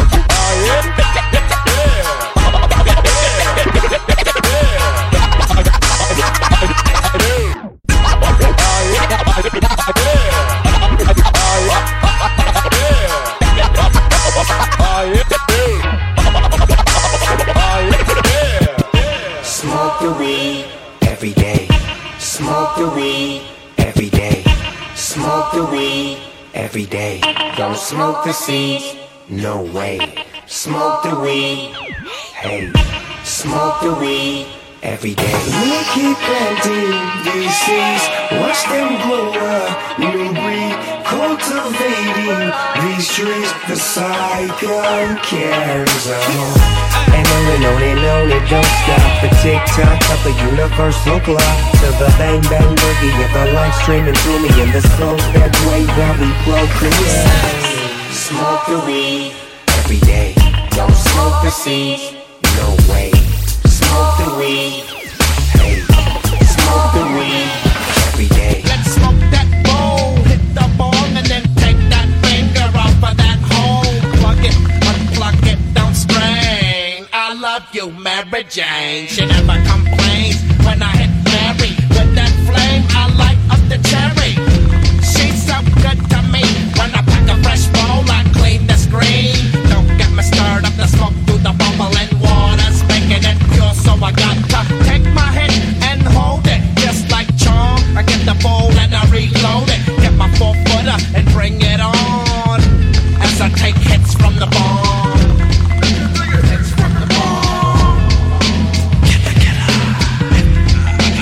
Smoke the weed every day. Smoke the weed every day. Smoke the weed every day. Don't smoke the seeds, no way. Smoke the weed, hey. Smoke the weed every day. We keep planting these seeds, watch them grow up, new breed, cultivating these trees. The cycle carries on. And on it don't stop. The tick-tock of the universal clock, to the bang-bang boogie of the life streaming through me, and the soul that way while we procreate. Smoke the weed every day. Don't smoke the seeds, no way. Smoke the weed, hey. Smoke the weed every day. Let's smoke that bowl, hit the bong, and then take that finger off of that hole. Plug it, unplug it, don't strain. I love you, Mary Jane. She never complains when I hit Mary with that flame. I light up the cherry. She's so good to me. When I pack a fresh bowl, I clean the screen. Don't get me stirred up the smoke through the bubbling water's making it pure, so I got to take my hit and hold it just like Chong. I get the bowl and I reload it. Get my 4-footer and bring it on as I take hits from the bomb. Hits from the bomb.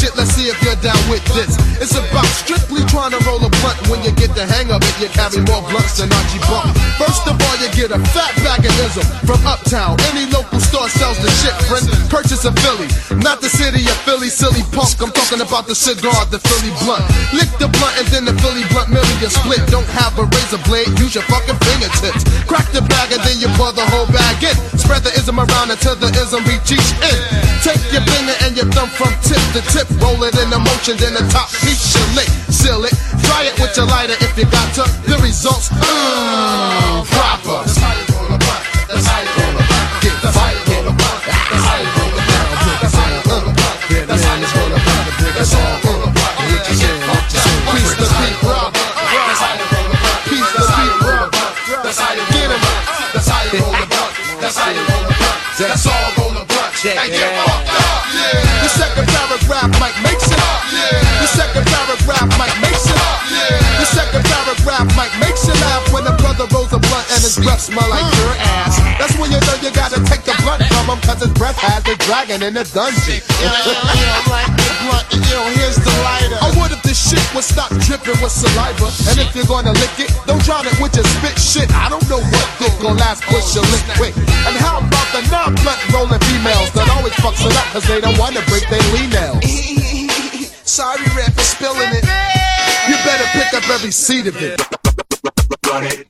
shit, let's see if you're down with this. It's about strictly trying to roll a blunt. When you get the hang of it, you carry more blunts than Archie Bump. First of all, you get a fat bag of ism from Uptown. Any local store sells the shit, friend. Purchase a Philly, not the city of Philly, silly punk. I'm talking about the cigar, the Philly blunt. Lick the blunt and then the Philly blunt million split. Don't have a razor blade, use your fucking fingertips. Crack the bag and then you pour the whole bag in. Spread the ism around until the ism reach each end. Take your finger and your thumb from tip to tip. Roll it in the motion, then the top piece you lick. Seal it, try it with your lighter if you got to. The results, proper. That's how you roll a blunt. That's how you roll a blunt. That's how you roll a blunt. That's how you roll a blunt. That's how you roll a blunt. That's how you roll a blunt. That's how you roll a blunt. Piece the beat, robber. That's how you roll a blunt. Piece the beat, robber. That's how you get 'em up. That's how you roll a blunt. That's how you roll a blunt. That's all roll a blunt. And get fucked up. The second paragraph might make sense. The second paragraph might make sense. The second paragraph might make you laugh when a brother rolls a blunt and his breath smell like your ass. That's when you know you gotta take the blunt from him, cause his breath has the dragon in the dungeon. Like the blunt, here's the lighter. Oh, what if this shit would stop dripping with saliva? And if you're gonna lick it, don't drown it with your spit shit. I don't know what dick gon' last, push your lick quick. And how about the non-blunt rolling females that always fucks it up cause they don't wanna break their lean nails? Sorry, Red, for spilling it. You better pick up every seed of it. Run it.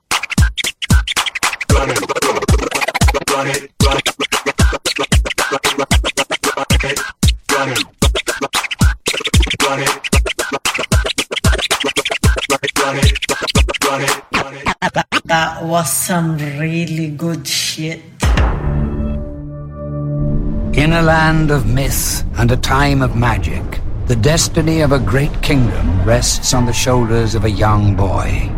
Run it. Run it. Run it. Run it. Run it. Run it. That was some really good shit. In a land of myth and a time of magic, the destiny of a great kingdom rests on the shoulders of a young boy.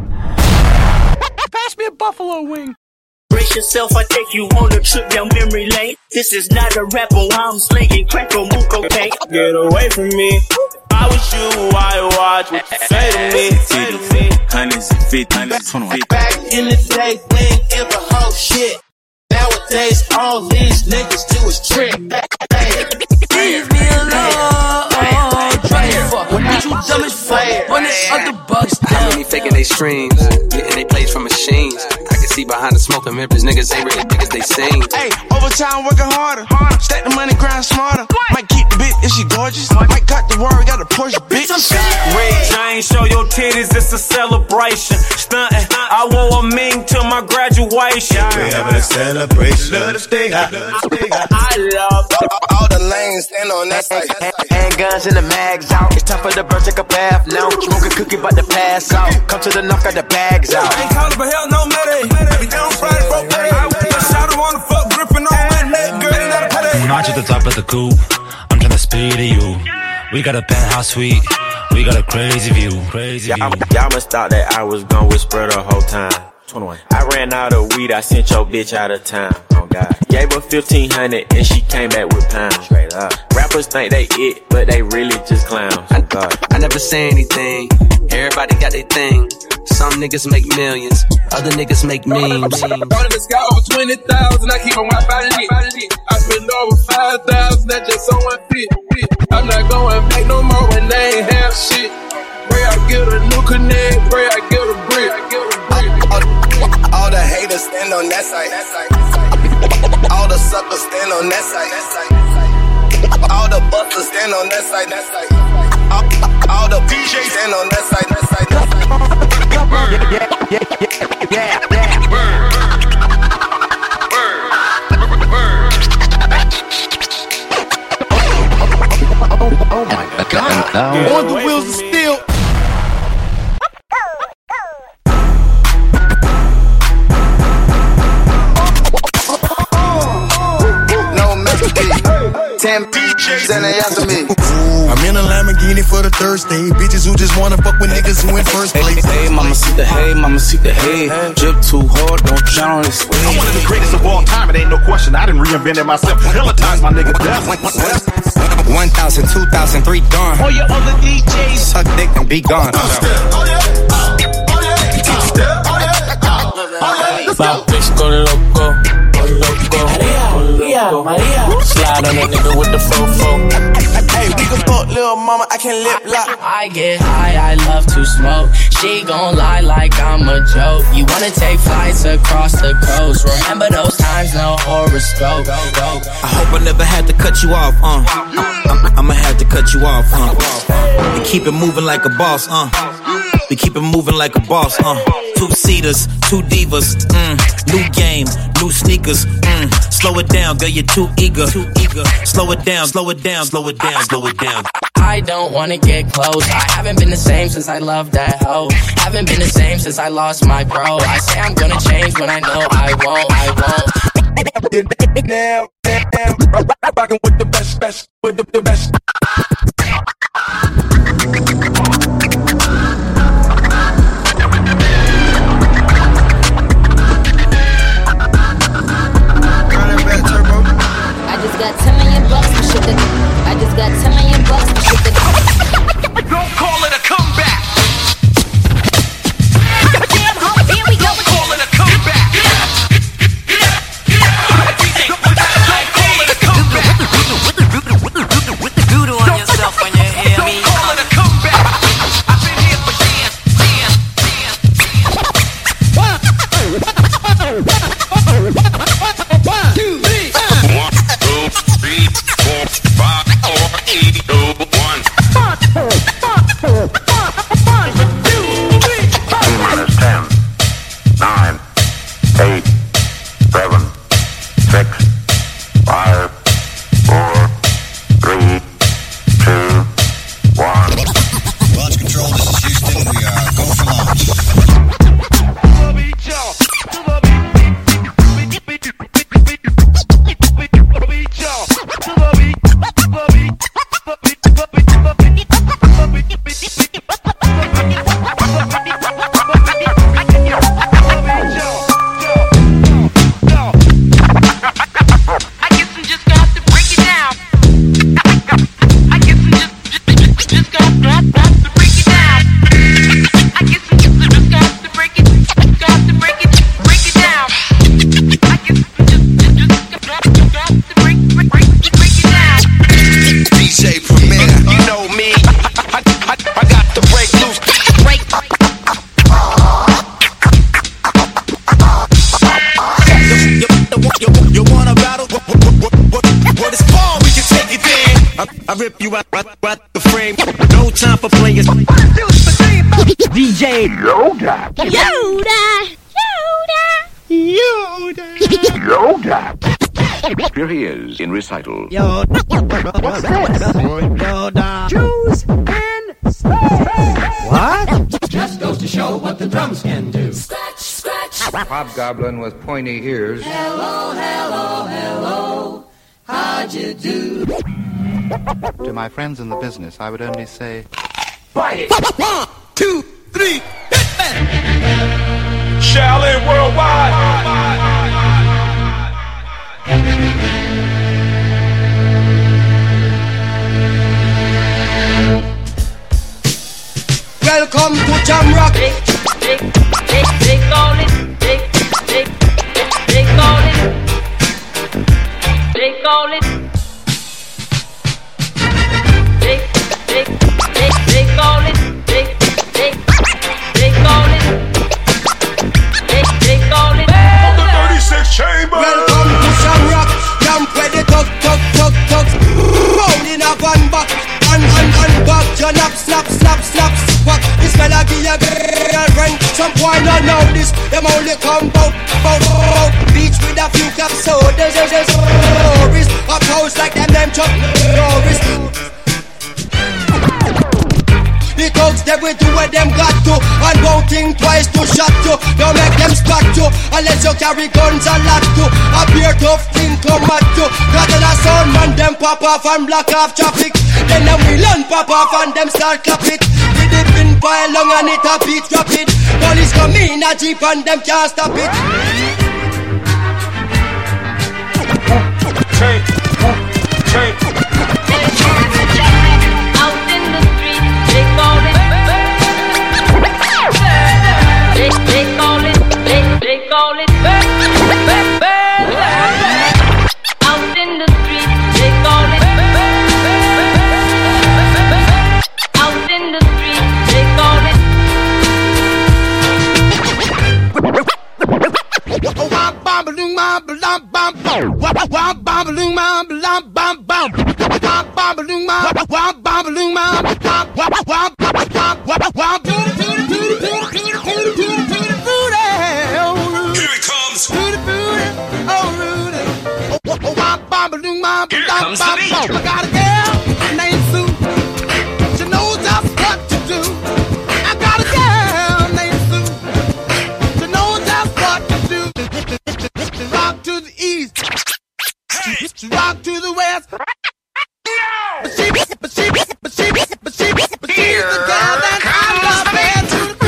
Pass me a buffalo wing. Brace yourself, I take you on a trip down memory lane. This is not a rapper, I'm slinging crack or mook, okay? Get away from me. I was you, I watch what you say to me. Hundreds and 50s, Back in the day, we ain't give a whole shit. Nowadays, all these niggas do is trick. Leave me alone. Try to fuck. When you dumb as fuck, running other bucks down. How many faking they streams, getting they plays from machines. I can see behind the smoke and members, niggas ain't really niggas, they sing. Hey, overtime working harder. Stack the money, grind smarter. Might keep the bitch if she gorgeous. Might cut the worry, got a Porsche, bitch. Red James, show your titties, it's a celebration. Stuntin', I wore a ming to my graduation. We having a celebration. Love to stay hot. I love all the lanes, stand on that side. Handguns and the mags out. It's time for the bird, take a bath now. Smoke a cookie, but the pass out. Come to the knock, got the bags out. I ain't calling for hell, no matter. We down Friday for pay. I shot her on the fuck, gripping on my neck, girl, ain't not a pay. Not at the top of the coupe, I'm tryna speed to you. We got a penthouse suite, we got a crazy view, crazy view. Y'all must thought that I was gonna whisper the whole time. 21. I ran out of weed, I sent your bitch out of town. Oh God. Gave her 1,500 and she came back with pounds. Straight up. Rappers think they it, but they really just clowns. Oh God. I never say anything, everybody got their thing. Some niggas make millions, other niggas make memes. Started the sky over 20,000, I keep on my body lit. I spend over 5,000, that's just on one fit. I'm not going back no more when they ain't have shit. Pray I get a new connect, pray I get a brick. All the haters stand on that side. All the suckers stand on that side. All the busters stand on that side. All the DJs stand on that side. Yeah. Oh my God. On the wheels of steel. I'm in a Lamborghini for the Thursday. Bitches who just wanna fuck with niggas who in first place. Hey, mama see the hay, mama see the hay. Drip too hard, don't drown on this way. I'm one of the greatest of all time, it ain't no question. I didn't reinvent it myself. Hella times my nigga death. 1,000, 2,000, 3 done. All your other DJs Suck dick and be gone. Bout bitch go loco, go loco. Maria. Slide on that nigga with the fofo. Hey, We can fuck little mama, I can lip lock. I get high, I love to smoke. She gon' lie like I'm a joke. You wanna take flights across the coast. Remember those times, no horoscope. I hope I never had to cut you off, I'ma have to cut you off, We keep it moving like a boss, We keep it moving like a boss, Two-seaters, two divas, new game, new sneakers, Slow it down, girl, you're too eager. Slow it down, slow it down, slow it down, slow it down. I don't wanna get close. I haven't been the same since I loved that hoe. Haven't been the same since I lost my bro. I say I'm gonna change when I know I won't. Now, rockin' with the best, with the best. I just got $10 million for shit that. I just got $10 million for shit that. Don't call it a comeback. Damn, ho, here we go. Don't call it a comeback. Don't call it a comeback. Doodle on yourself when you hear me. Don't call it a comeback. I've been here for dance. 1, 2, 3. 1, 2, 3, 4, 5, 4, 8, 2, 1. 10, 9, 8, 7, 6, 5, 4, 3, 2, 1. Launch control, this is Houston. We are go for launch. I rip you out the frame. No time for players. DJ Yoda. Here he is in recital. What's this? Yoda. Choose in space. What? Just goes to show what the drums can do. Scratch, scratch. Hobgoblin with pointy ears. Hello, hello, hello. How'd you do? To my friends in the business, I would only say, Bite it. 1, 2, 3, hit that. Shaolin Worldwide. Welcome to Jamrock. They call it. They call it. They call it. They call it. They call it. They call it. From the 36 chamber. Welcome to Jamrock. Jump where the tug. Round in a van back. And back. John up, slap. This melody a girlfriend. Some boy not know this. Them only come bout. Beach with a few caps. So there's stories. Up house like them Chuck Norris. The thugs they will do what them got to. And won't think twice to shot you. Don't make them spot you. Unless you carry guns a lot to. A beer tough thing come at you. Got on a sound man them pop off and block off traffic. Then them we learn pop off and them start clap it. With the pin pile long and it a beat rapid. Police come in a jeep and them can't stop it. Change. Out in the street, they call it. They call it. They call it. Out in the street, they call it. comes the beat. I got a girl named Sue. She knows just what to do. I got a girl named Sue. She knows just what to do. She rock to the east. She rock to the west. But she's the girl that I love. Man, to the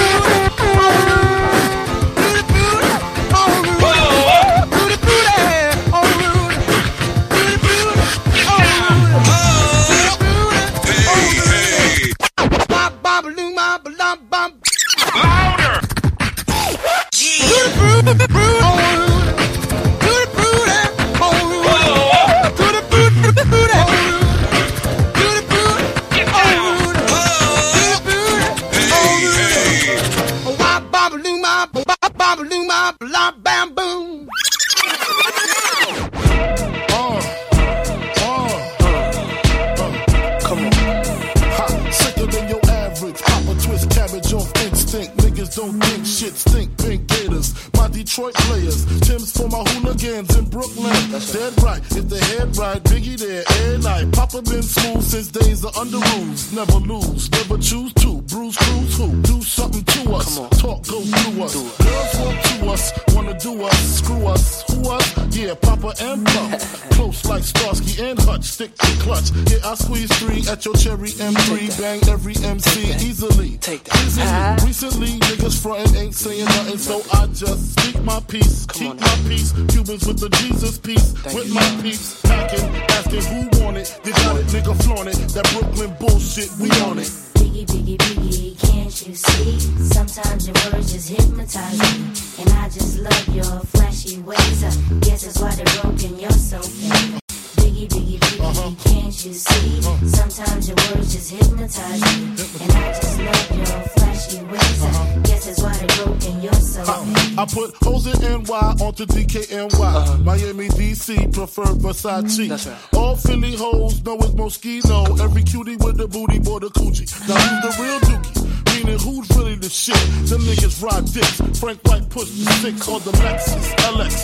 don't think shit stink, pink gators. My Detroit players, Tim's for my hooligans in Brooklyn. That's dead right, if the head right, Biggie there, every night. Papa been smooth since days of under rules. Never lose, never choose to. Bruise, cruise, who? Do something to us. Talk, go through us. Girls want to us, wanna do us, screw us. Who us? Yeah, Papa and Pump. Close like Starsky and Hutch, stick to clutch. Yeah, I squeeze 3 at your cherry M3. Bang every MC easily. Take that. Recently, niggas frontin' ain't saying nothing, so I just speak my peace, keep my peace. Cubans with the Jesus peace, with my peeps. Packing, asking who want it. They got it, nigga flaunt it. That Brooklyn bullshit, we on it. Biggie, biggie, biggie, can't you see? Sometimes your words just hypnotize me. And I just love your flashy ways. I guess that's why they're broken, you're so fake. Biggie, biggie, biggie, can't you see? Sometimes your words just hypnotize me. And I just love your flashy ways. I guess that's why they're broken, you're so fake. I put hoes in NY onto DKNY. Miami, DC, prefer Versace. That's right. All Philly hoes know it's Moschino. Every cutie with the booty, boy, the coochie. Now who's the real dookie? Meaning who's really the shit? Them niggas ride dicks. Frank White pushed the 6 on the Lexus LX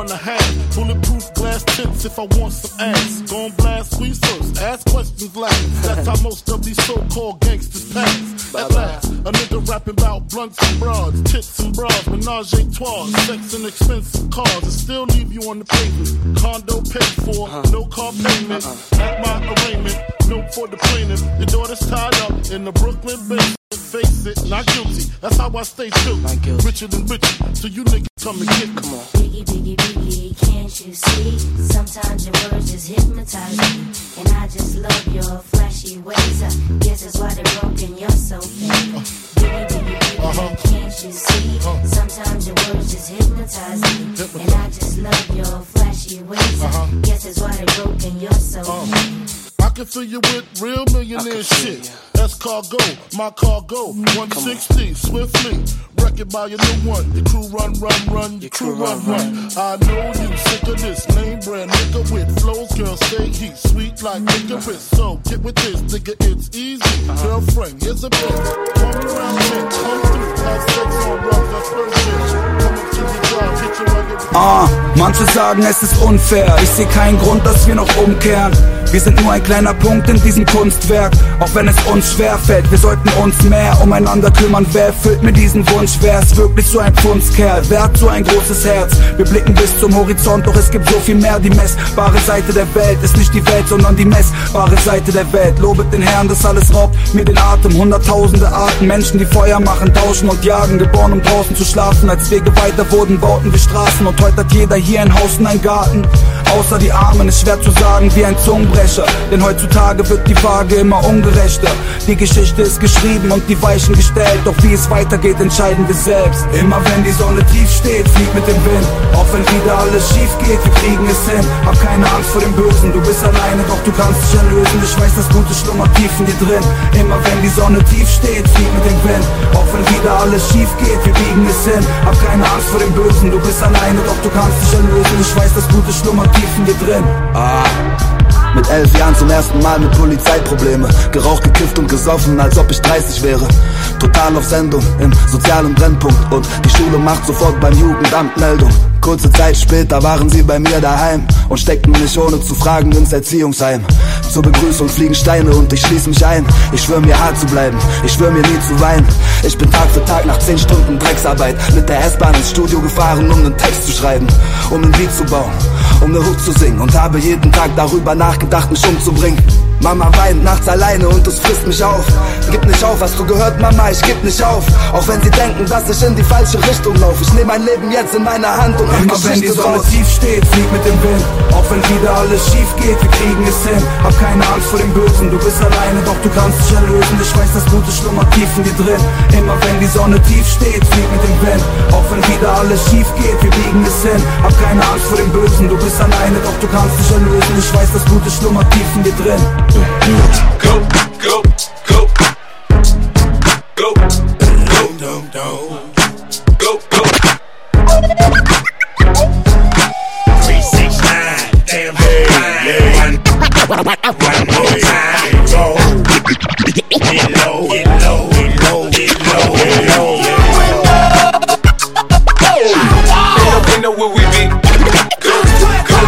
4.5. Bulletproof glass tips if I want some ass. Gon' blast, squeeze first, ask questions last. That's how most of these so-called gangsters pass. At last, a nigga rapping about blunts and broads, tits and bras, menage a trois, sex and expensive cars, and still leave you on the pavement. Condo paid for, no car payment. At my arraignment, note for the plaintiff. Your daughter's tied up in the Brooklyn basement. Face it, not guilty. That's how I stay true. Richer than richer, so you niggas come and get me. Come on. Biggie, biggie, biggie, can't you see? Sometimes your words just hypnotize me. And I just love your flashy ways. I guess that's why they're broken, you're so fake. Biggie, biggie, biggie, can't you see? Sometimes your words just hypnotize me. And I just love your flashy ways. I guess that's why they're broken, you're so fake. I can fill you with real millionaire shit. That's cargo, my cargo. 160, swiftly. Wreck it by your new one. Your crew run. Your crew run. I know you sick of this name brand nigga with flows. Girl, stay heat, sweet like licorice. So get with this, nigga, it's easy. Girlfriend, here's a bitch. Call me round 10, come through. Have sex on drugs, that's first bitch. Come up to the job, hit your rugged. Manche sagen, es ist unfair. Ich sehe keinen Grund, dass wir noch umkehren. Wir sind nur ein kleiner Punkt in diesem Kunstwerk. Auch wenn es uns schwerfällt, wir sollten uns mehr umeinander kümmern. Wer erfüllt mir diesen Wunsch? Wer ist wirklich so ein Pfundskerl? Wer hat so ein großes Herz? Wir blicken bis zum Horizont, doch es gibt so viel mehr. Die messbare Seite der Welt ist nicht die Welt, sondern die messbare Seite der Welt. Lobet den Herrn, das alles raubt mir den Atem. Hunderttausende Arten, Menschen, die Feuer machen, tauschen und jagen. Geboren, um draußen zu schlafen. Als Wege weiter wurden, bauten wir Straßen. Und heute hat jeder hier ein Haus und einen Garten. Außer die Armen ist schwer zu sagen wie ein Zungenbrecher. Denn heutzutage wird die Waage immer ungerechter. Die Geschichte ist geschrieben und die Weichen gestellt, doch wie es weitergeht, entscheiden wir selbst. Immer wenn die Sonne tief steht, flieg mit dem Wind, auch wenn wieder alles schief geht, wir kriegen es hin. Hab keine Angst vor dem Bösen, du bist alleine, doch du kannst dich erlösen. Ich weiß, das Gute schlummert tief in dir drin. Immer wenn die Sonne tief steht, flieg mit dem Wind, auch wenn wieder alles schief geht, wir biegen es hin. Hab keine Angst vor dem Bösen, du bist alleine, doch du kannst dich erlösen. Ich weiß, das Gute schlummert tief in dir drin. Mit 11 Jahren zum ersten Mal mit Polizeiprobleme. Geraucht, gekifft und gesoffen, als ob ich 30 wäre. Total auf Sendung, im sozialen Brennpunkt. Und die Schule macht sofort beim Jugendamt Meldung. Kurze Zeit später waren sie bei mir daheim und steckten mich ohne zu fragen ins Erziehungsheim. Zur Begrüßung fliegen Steine und ich schließ mich ein. Ich schwör mir hart zu bleiben, ich schwör mir nie zu weinen. Ich bin Tag für Tag nach 10 Stunden Drecksarbeit mit der S-Bahn ins Studio gefahren, um einen Text zu schreiben, um ein Lied zu bauen, um eine Hook zu singen. Und habe jeden Tag darüber nachgedacht, mich umzubringen. Mama weint nachts alleine und es frisst mich auf. Gib nicht auf, hast du gehört, Mama, ich geb nicht auf. Auch wenn sie denken, dass ich in die falsche Richtung laufe. Ich nehm mein Leben jetzt in meine Hand und mach Geschichte wenn die Sonne draus. tief steht, flieg mit dem Wind, auch wenn wieder alles schief geht, wir kriegen es hin. Hab keine Angst vor dem Bösen, du bist alleine, doch du kannst dich erlösen. Ich weiß, das Gute schlummert tief in dir drin. Immer wenn die Sonne tief steht, flieg mit dem Wind, auch wenn wieder alles schief geht, wir biegen es hin. Hab keine Angst vor dem Bösen, du bist alleine, doch du kannst dich erlösen. Ich weiß, das Gute schlummert tief in dir drin. Go, go, go, go, go, go, go. 369, damn hey, one more time, go. Get low, get low, get low, get low, get low. They know where we be. Go, go, go.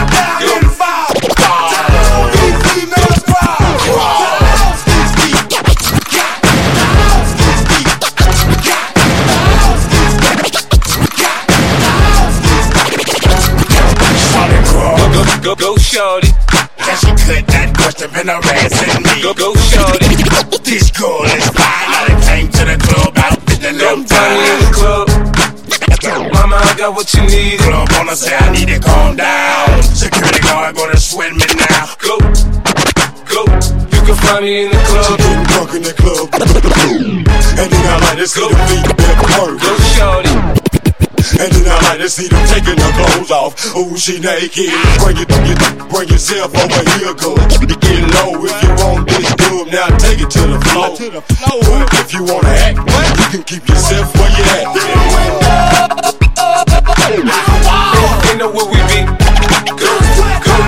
Go, shorty. That she could that question been harassing me. Go, shorty. This girl is fine. I done came to the club out with the little time. In the club. Mama, I got what you need. Club owner say I need to calm down. Security guard gonna sweat me now. Go, go. You can find me in the club. She getting drunk in the club. And then I like to see the feet that hurt. Go, shorty. And then I like to see them taking their clothes off. Ooh, she naked. Bring yourself over here, girl. Get low if you want this good. Now take it to the floor. Ooh, if you wanna act, you can keep yourself where you at. They know where we be. Go, go, go.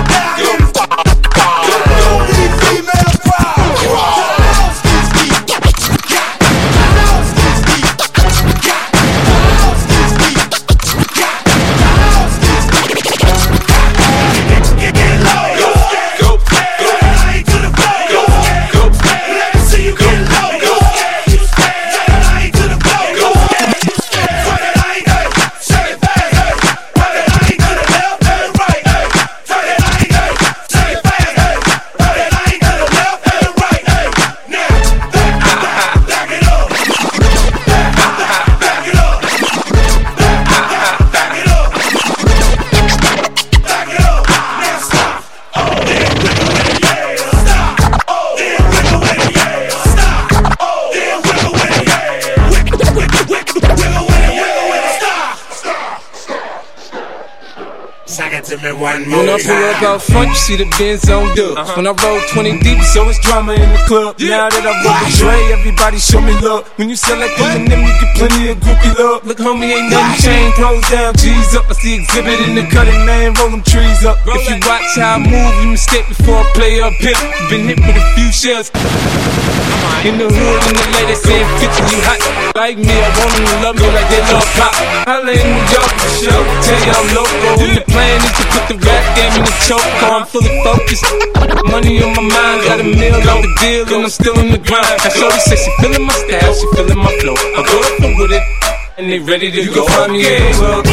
When I pull up out front, you see the Benz on dub. When I roll 20 deep, so it's drama in the club. Now that I roll with Dre, everybody show me love. When you sell like Eminem, you get plenty of groupie love. Look, homie, ain't nothing changed. Close down, G's up. I see exhibit in the cutting, man. Roll them trees up. If you watch how I move, you mistake before I play up here. Been hit with a few shells. In the hood, in the lady saying, "Picture you hot like me." I want them to love me like they love pop. Holla in New York for sure. Tell you I'm local. And the plan is to put the rap game in the choke. I'm fully focused. Money on my mind, got a meal on the deal, and I'm still in the grind. Now shorty says she feeling my style, she feeling my flow. I go up with it, and they ready to go. Find me in the club.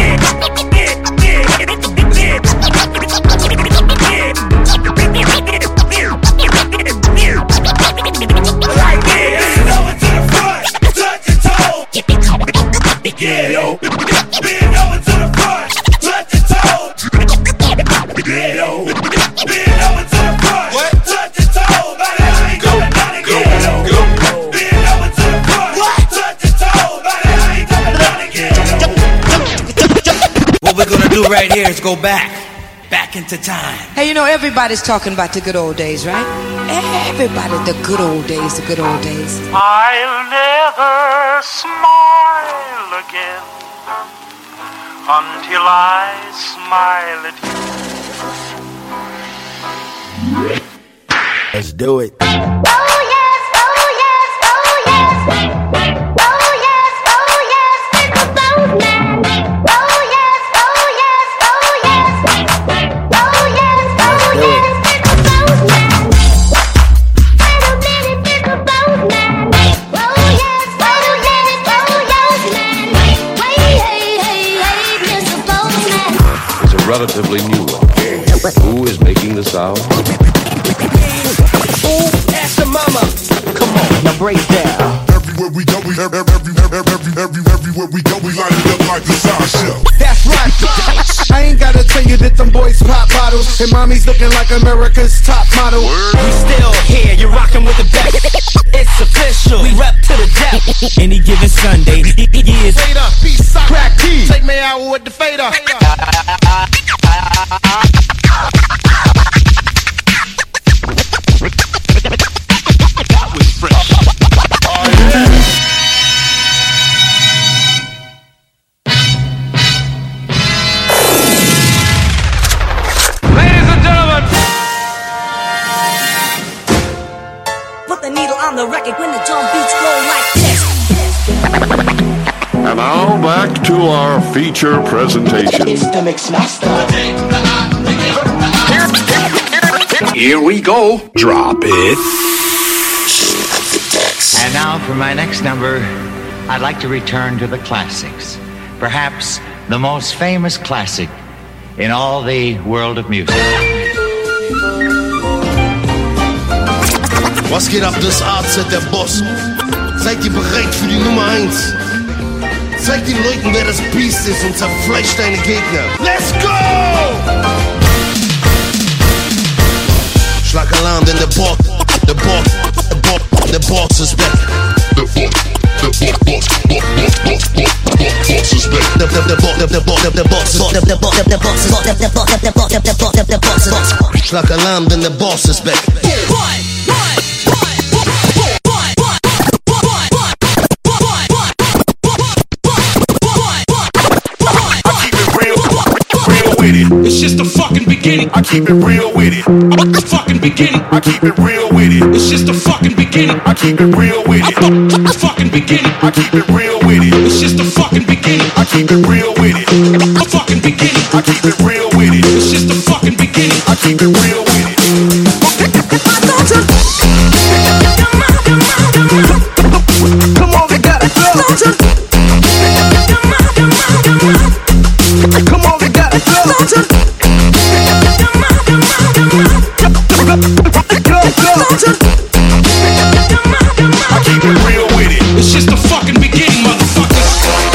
Get low. Bend over to the front. Touch your toes. Get low. Bend over to the front. Touch your toes. Go, go, go. right here is go back into time. Hey, you know, everybody's talking about the good old days, right? Everybody, the good old days, the good old days. I'll never smile again until I smile at you. Let's do it. Relatively new one. Who is making the sound? Ooh, ask the mama. Come on, now break down. Everywhere we go, everywhere we go, we line it up like the sound show. That's right. I ain't gotta tell you that them boys pop bottles and mommy's looking like America's top model. We still here, you're rocking with the best. It's official, we rep to the death. Any given Sunday, he is Fader, peace, sock, crack key. Take me out with the fader. That was fresh. Oh, yeah. Ladies and gentlemen, Put the needle on the record when the drum beats go like this. And now back to our feature presentation. It's the Mix Master. Here we go. Drop it. And now for my next number, I'd like to return to the classics. Perhaps the most famous classic in all the world of music. Was geht ab, das AZ, der Boss? Seid ihr bereit für die Nummer 1? Zeig den Leuten, wer das Biest ist und zerfleischt deine Gegner. Let's go! Schlag Alarm, denn der Boss ist back. The boss is back. Schlag Alarm, denn der Boss ist back. It's just the fucking beginning. I keep it real with it. The fucking beginning. I keep it real with it. It's just the fucking beginning. I keep it real with it. The fucking beginning. I keep it real with it. It's just the fucking beginning. I keep it real with it. The fucking beginning. I keep it real with it. It's just the fucking beginning. I keep it real with it. Come on, we gotta go. Come on, we gotta go. I keep it real with it. It's just the fucking beginning, motherfuckers.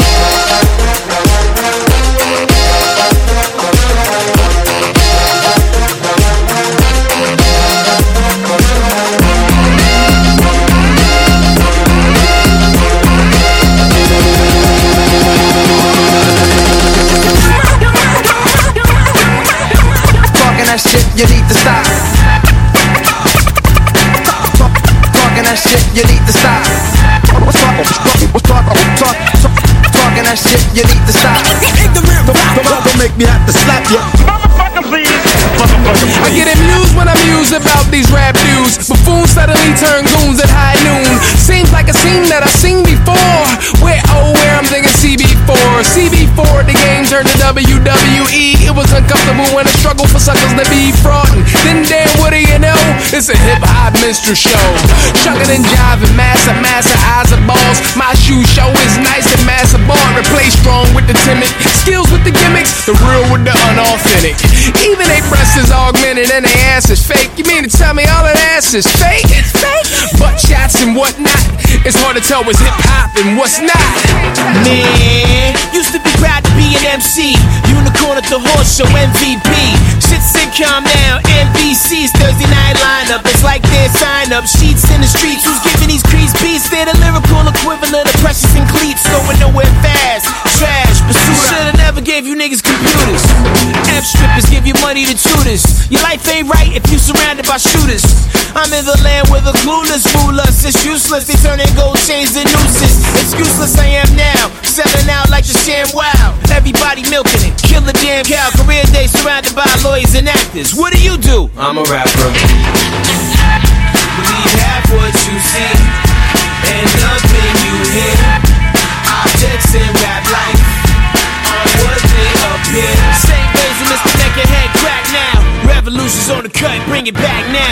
That shit, you need to stop. Talking that shit, you need to stop. Talking that shit, you need to stop. Don't make me have to slap you. Motherfucker, please. I get amused when I muse about these rap dudes. Buffoons suddenly turn goons at high noon. Seems like a scene that I've seen before. Where I'm thinking CB4. CB4, the game turned to WWE. It was uncomfortable when I struggled for suckers to be fraudin'. Then damn, what do you know? It's a hip-hop minstrel show. Chuckin' and jiving, massa, eyes of balls. My shoe show is nice and massa ball. Replace strong with the timid, skills with the gimmicks, the real with the unauthentic. Even they breasts is augmented and they ass is fake. You mean to tell me all that ass is fake? It's fake. Butt shots and whatnot. It's hard to tell what's hip-hop and what's not. man, used to be proud to be an MC. Unicorn at the horse show, MVP. Shit sitcom now, NBC's Thursday night lineup. It's like their sign-up sheets in the streets. Who's giving these crease beats? They're the lyrical equivalent of Precious and Cleats. Going nowhere fast, trash, pursuit. Should've never gave gave you niggas computers. F-strippers give you money to tutors. Your life ain't right if you surrounded by shooters. I'm in the land where the clueless rule us. It's useless, they turn their gold chains to nooses. Excuseless I am now, selling out like the sham wow. Everybody milking it, kill the damn cow. Career day surrounded by lawyers and actors. What do? I'm a rapper. Believe half what you see and nothing you hear. Objects in rap life are what they appear. Same ways as Mr. Make your head crack now. Revolution's on the cut, bring it back now.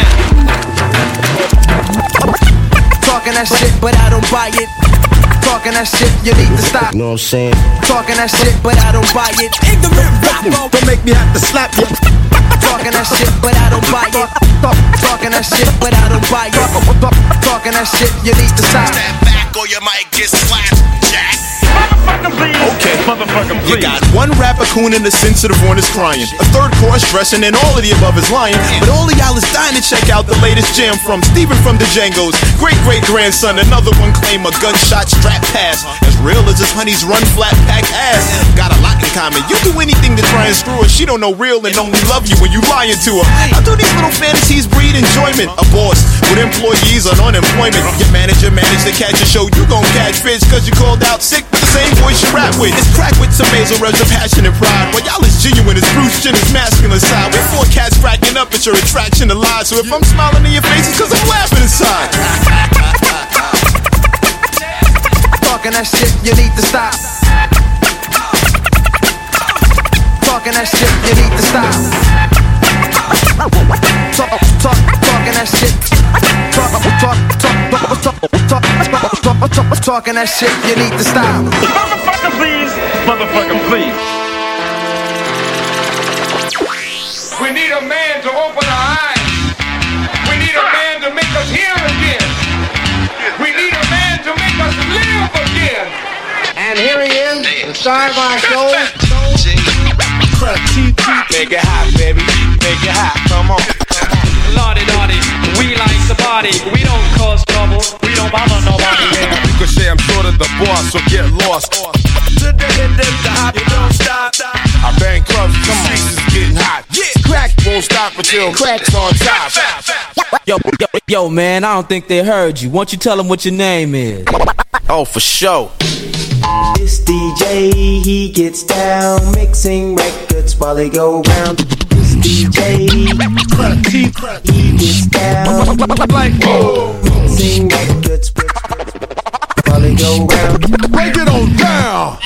Talking that shit, but I don't buy it. Talking that shit, you need to stop. You know what I'm saying? Talking that shit, but I don't buy it. Ignorant rapper, don't make me have to slap you. Talking that shit, but I don't buy it. Talking that shit, but I don't buy it. Talking that shit, you need to stop. Stand back or you might get slapped, Jack. Okay, motherfucking please. You got one rapper coon and the sensitive one is crying. A third chorus dressing and all of the above is lying. But all of y'all is dying to check out the latest jam from Steven from the Django's great-great-grandson. Another one claim a gunshot strap pass. As real as his honey's run flat pack ass. Got a lot in common. You do anything to try and screw her. She don't know real and only love you when you lying to her. How do these little fantasies breed enjoyment? A boss with employees on unemployment. Your manager managed to catch a show. You gon' catch fish cause you called out sick with the same voice you rap with. It's crack with some nasal reds of passion and pride. While y'all is genuine as Bruce Jenner's masculine side. We're four cats cracking up at your attraction to lies. So if I'm smiling in your faces cause I'm laughing inside. Talking that shit, you need to stop. Talking that shit, you need to stop. Talking that shit. Talking that shit, you need to stop. Motherfucker please, motherfucker please. We need a man to open our eyes. We need a man to make us hear again. We need a man to make us live again. And here he is, the star of our show. Make it hot, baby. Make it hot. Come on. Lordy, lordy, we like the party. We don't cause trouble. We don't bother nobody. You could say I'm sort of the boss, so get lost. To the hip, the hop, you don't stop. I bang clubs, the streets is getting hot. Crack won't stop until crack's on top. Yo, man, I don't think they heard you. Why don't you tell them what your name is? Oh, for sure. This DJ, he gets down, mixing records while they go round. This DJ, he gets down, mixing records while they go round. Break it on down.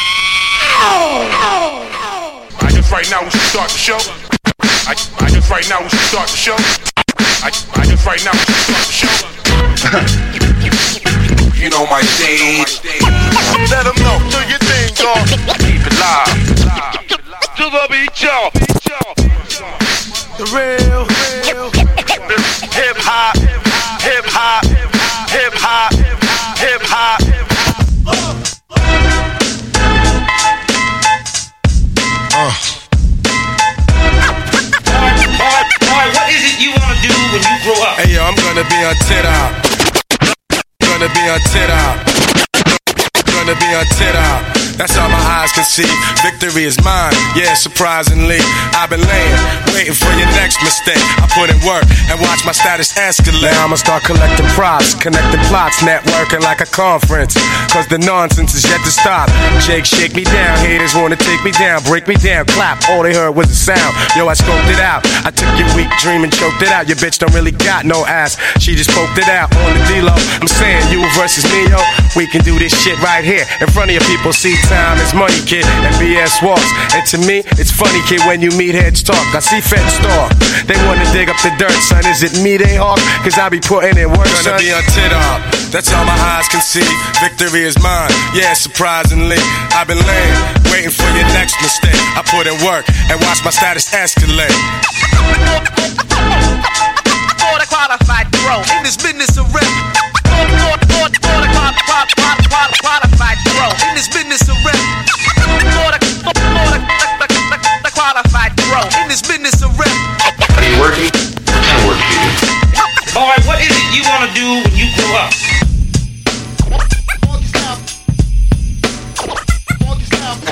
I guess right now we should start the show. I guess right now we should start the show. I guess right now we should start the show. You know my stage. Let them know, do your thing, dog. Keep it live. To the beat, y'all. The real hip hop, hip hop, hip hop, hip hop. Boy, what is it you wanna do when you grow up? Hey yo, I'm gonna be on TikTok. Gonna be on TikTok. Gonna be on TikTok. That's all my eyes can see. Victory is mine, yeah, surprisingly. I've been laying, waiting for your next mistake. I put in work and watch my status escalate. Now I'ma start collecting props, connecting plots, networking like a conference. Cause the nonsense is yet to stop. Jake, shake me down, haters wanna take me down, break me down, clap. All they heard was a sound. Yo, I scoped it out. I took your weak dream and choked it out. Your bitch don't really got no ass. She just poked it out on the D-Lo. I'm saying you versus me, yo. We can do this shit right here in front of your people. See, time is money, kid, and BS walks. And to me, it's funny, kid, when you meet heads talk. I see feds talk. They wanna dig up the dirt, son. Is it me they hawk? Cause I be putting in work, son. Gonna be on TikTok. That's all my eyes can see. Victory is mine, yeah, surprisingly. I've been laying, waiting for your next mistake. I put in work and watch my status escalate. For the qualified pro in this business of rap. For the qualified pro in this business of rap. For the qualified pro in this business of rap. Are you working? What kind of work do you do? Boy, what is it you wanna do when you grow up?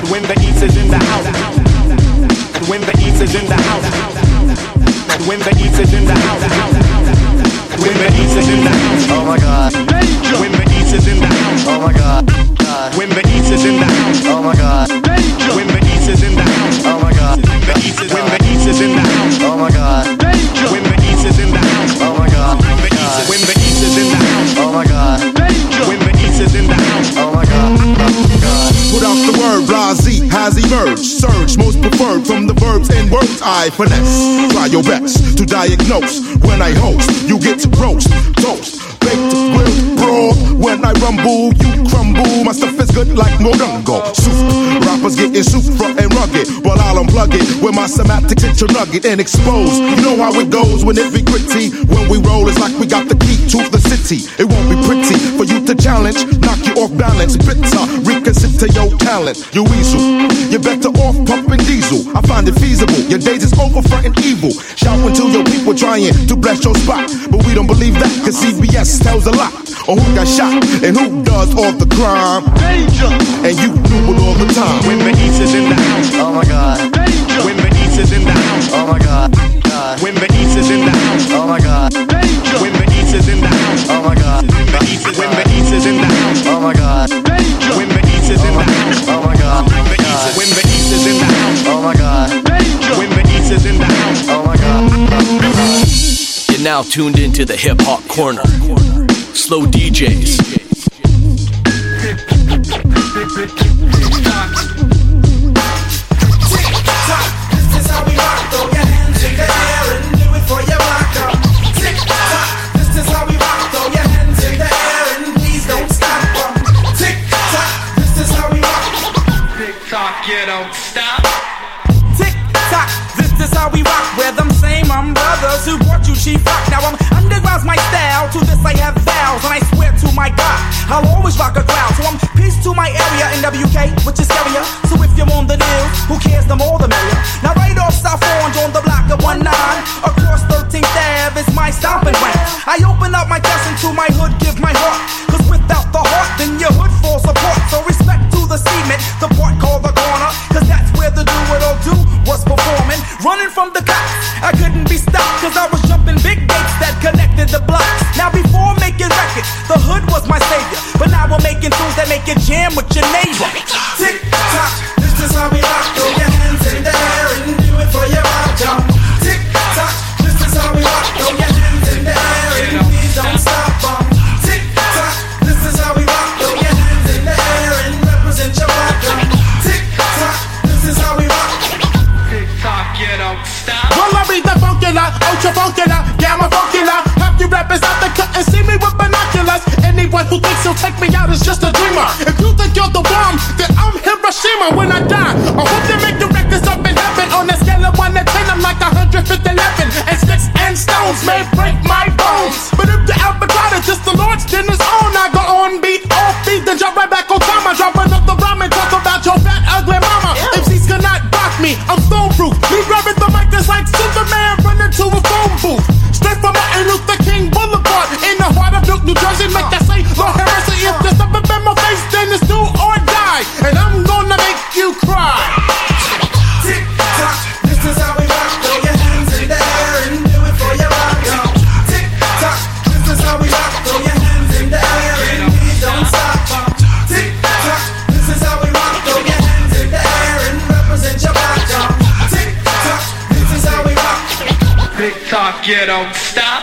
When the East is in the house. When the East is in the house. When the East is in the house. When the East is in the house. Oh my God. When the East is in the house. Oh my God. When the East is in the house. Oh my God. When the East is in the house. Oh my God. When the East is in the house. Oh my God. When the East is in the house. Oh my God. When the East is in the house. Oh my God. When the East is in the house. Oh my God. Put out the word, blase has emerged. Surge, most preferred from the verbs and words I finesse. Try your best to diagnose. When I host, you get to roast, toast, baked, grilled, broad. When I rumble, you crumble. My stuff is good like Modungo. Soup, rappers getting super and rugged. While I'll unplug it with my semantics into nugget and expose. You know how it goes when it be gritty. When we roll, it's like we got the key to the city. It won't be pretty for you to challenge. Knock you off balance, bitter, reconsider your talent. You weasel, you're better off pumping diesel. I find it feasible, your days is over frontin' evil. Shouting to your people trying to bless your spot. But we don't believe that, cause CBS tells a lot on who got shot and who does all the crime. Danger! And you do it all the time. When the East is in the house. Oh my God. Danger! When the East is in the house. Oh my God. When the East is in the house. Oh my God. Danger! When the East is in the house. Oh my God. When the East is in the house. Oh my God. Danger! When the East is in the house. Oh my God. When the East is in the house. Oh my God. Danger! When the East is in the house. Oh my God. You're now tuned into the Hip Hop Corner. Slow DJs. You don't stop. Tick tock, this is how we rock. We're them same brothers who brought you cheap rock. Now I'm underground's my style. To this I have vows, and I swear to my God, I'll always rock a crowd. So I'm peace to my area in WK, which is scarier. So if you're on the news, who cares? The more the merrier. Now right off South Orange on the block of 19, across 13th Ave is my stomping ground. I open up my chest into my hood, give my heart. Cause without the heart, then your hood falls apart. So respect to the cement, the part called the corner. Cause that's where the do-what-I'll-do was performing. Running from the cops, I couldn't be stopped. Cause I was jumping big gates that connected the blocks. Now before making records, the hood was my savior. But now we're making tunes that make you jam with your neighbor. Tick-tock, this is how we rock. Throw your hands in the air and do it for your rock jump. Tick-tock, this is how we rock. Throw your hands in the air and please don't stop. Tick-tock, this is how we rock. Throw your hands in the air and represent your rock jump. Tick-tock, this is how we rock. Tick-tock, you don't stop. Well, I be the funkular, ultra funkular, gamma funkular. Half you rappers out there couldn't see me with binoculars. Anyone who thinks he'll take me out is just a dreamer. If you think you're the bomb, then I'm Hiroshima when I die. I hope they make the records up in heaven. On a scale of 1 to 10, I'm like 111. And sticks and stones may break my bones. But if the avocado just the Lord's, then it's on. I go on beat, off beat, then drop right back on time. I drop another rhyme and talk about your fat, ugly mama. MCs cannot block me, I'm stone proof. Me grabbing the mic is like Superman running to a phone booth. Straight from Martin Luther King Boulevard in the heart of Newark, New Jersey. Make that say, Lord Harrison, if there's something in my face, then it's do or die. And I'm gonna make you cry. Tick tock, this is how we rock. Throw your hands in the air and do it for your rock. Tick tock, this is how we rock. Throw your hands in the air and please don't stop. Tick tock, this is how we rock. Throw your hands in the air and represent your rock. Tick tock, this is how we rock. Tick-tock, you don't stop.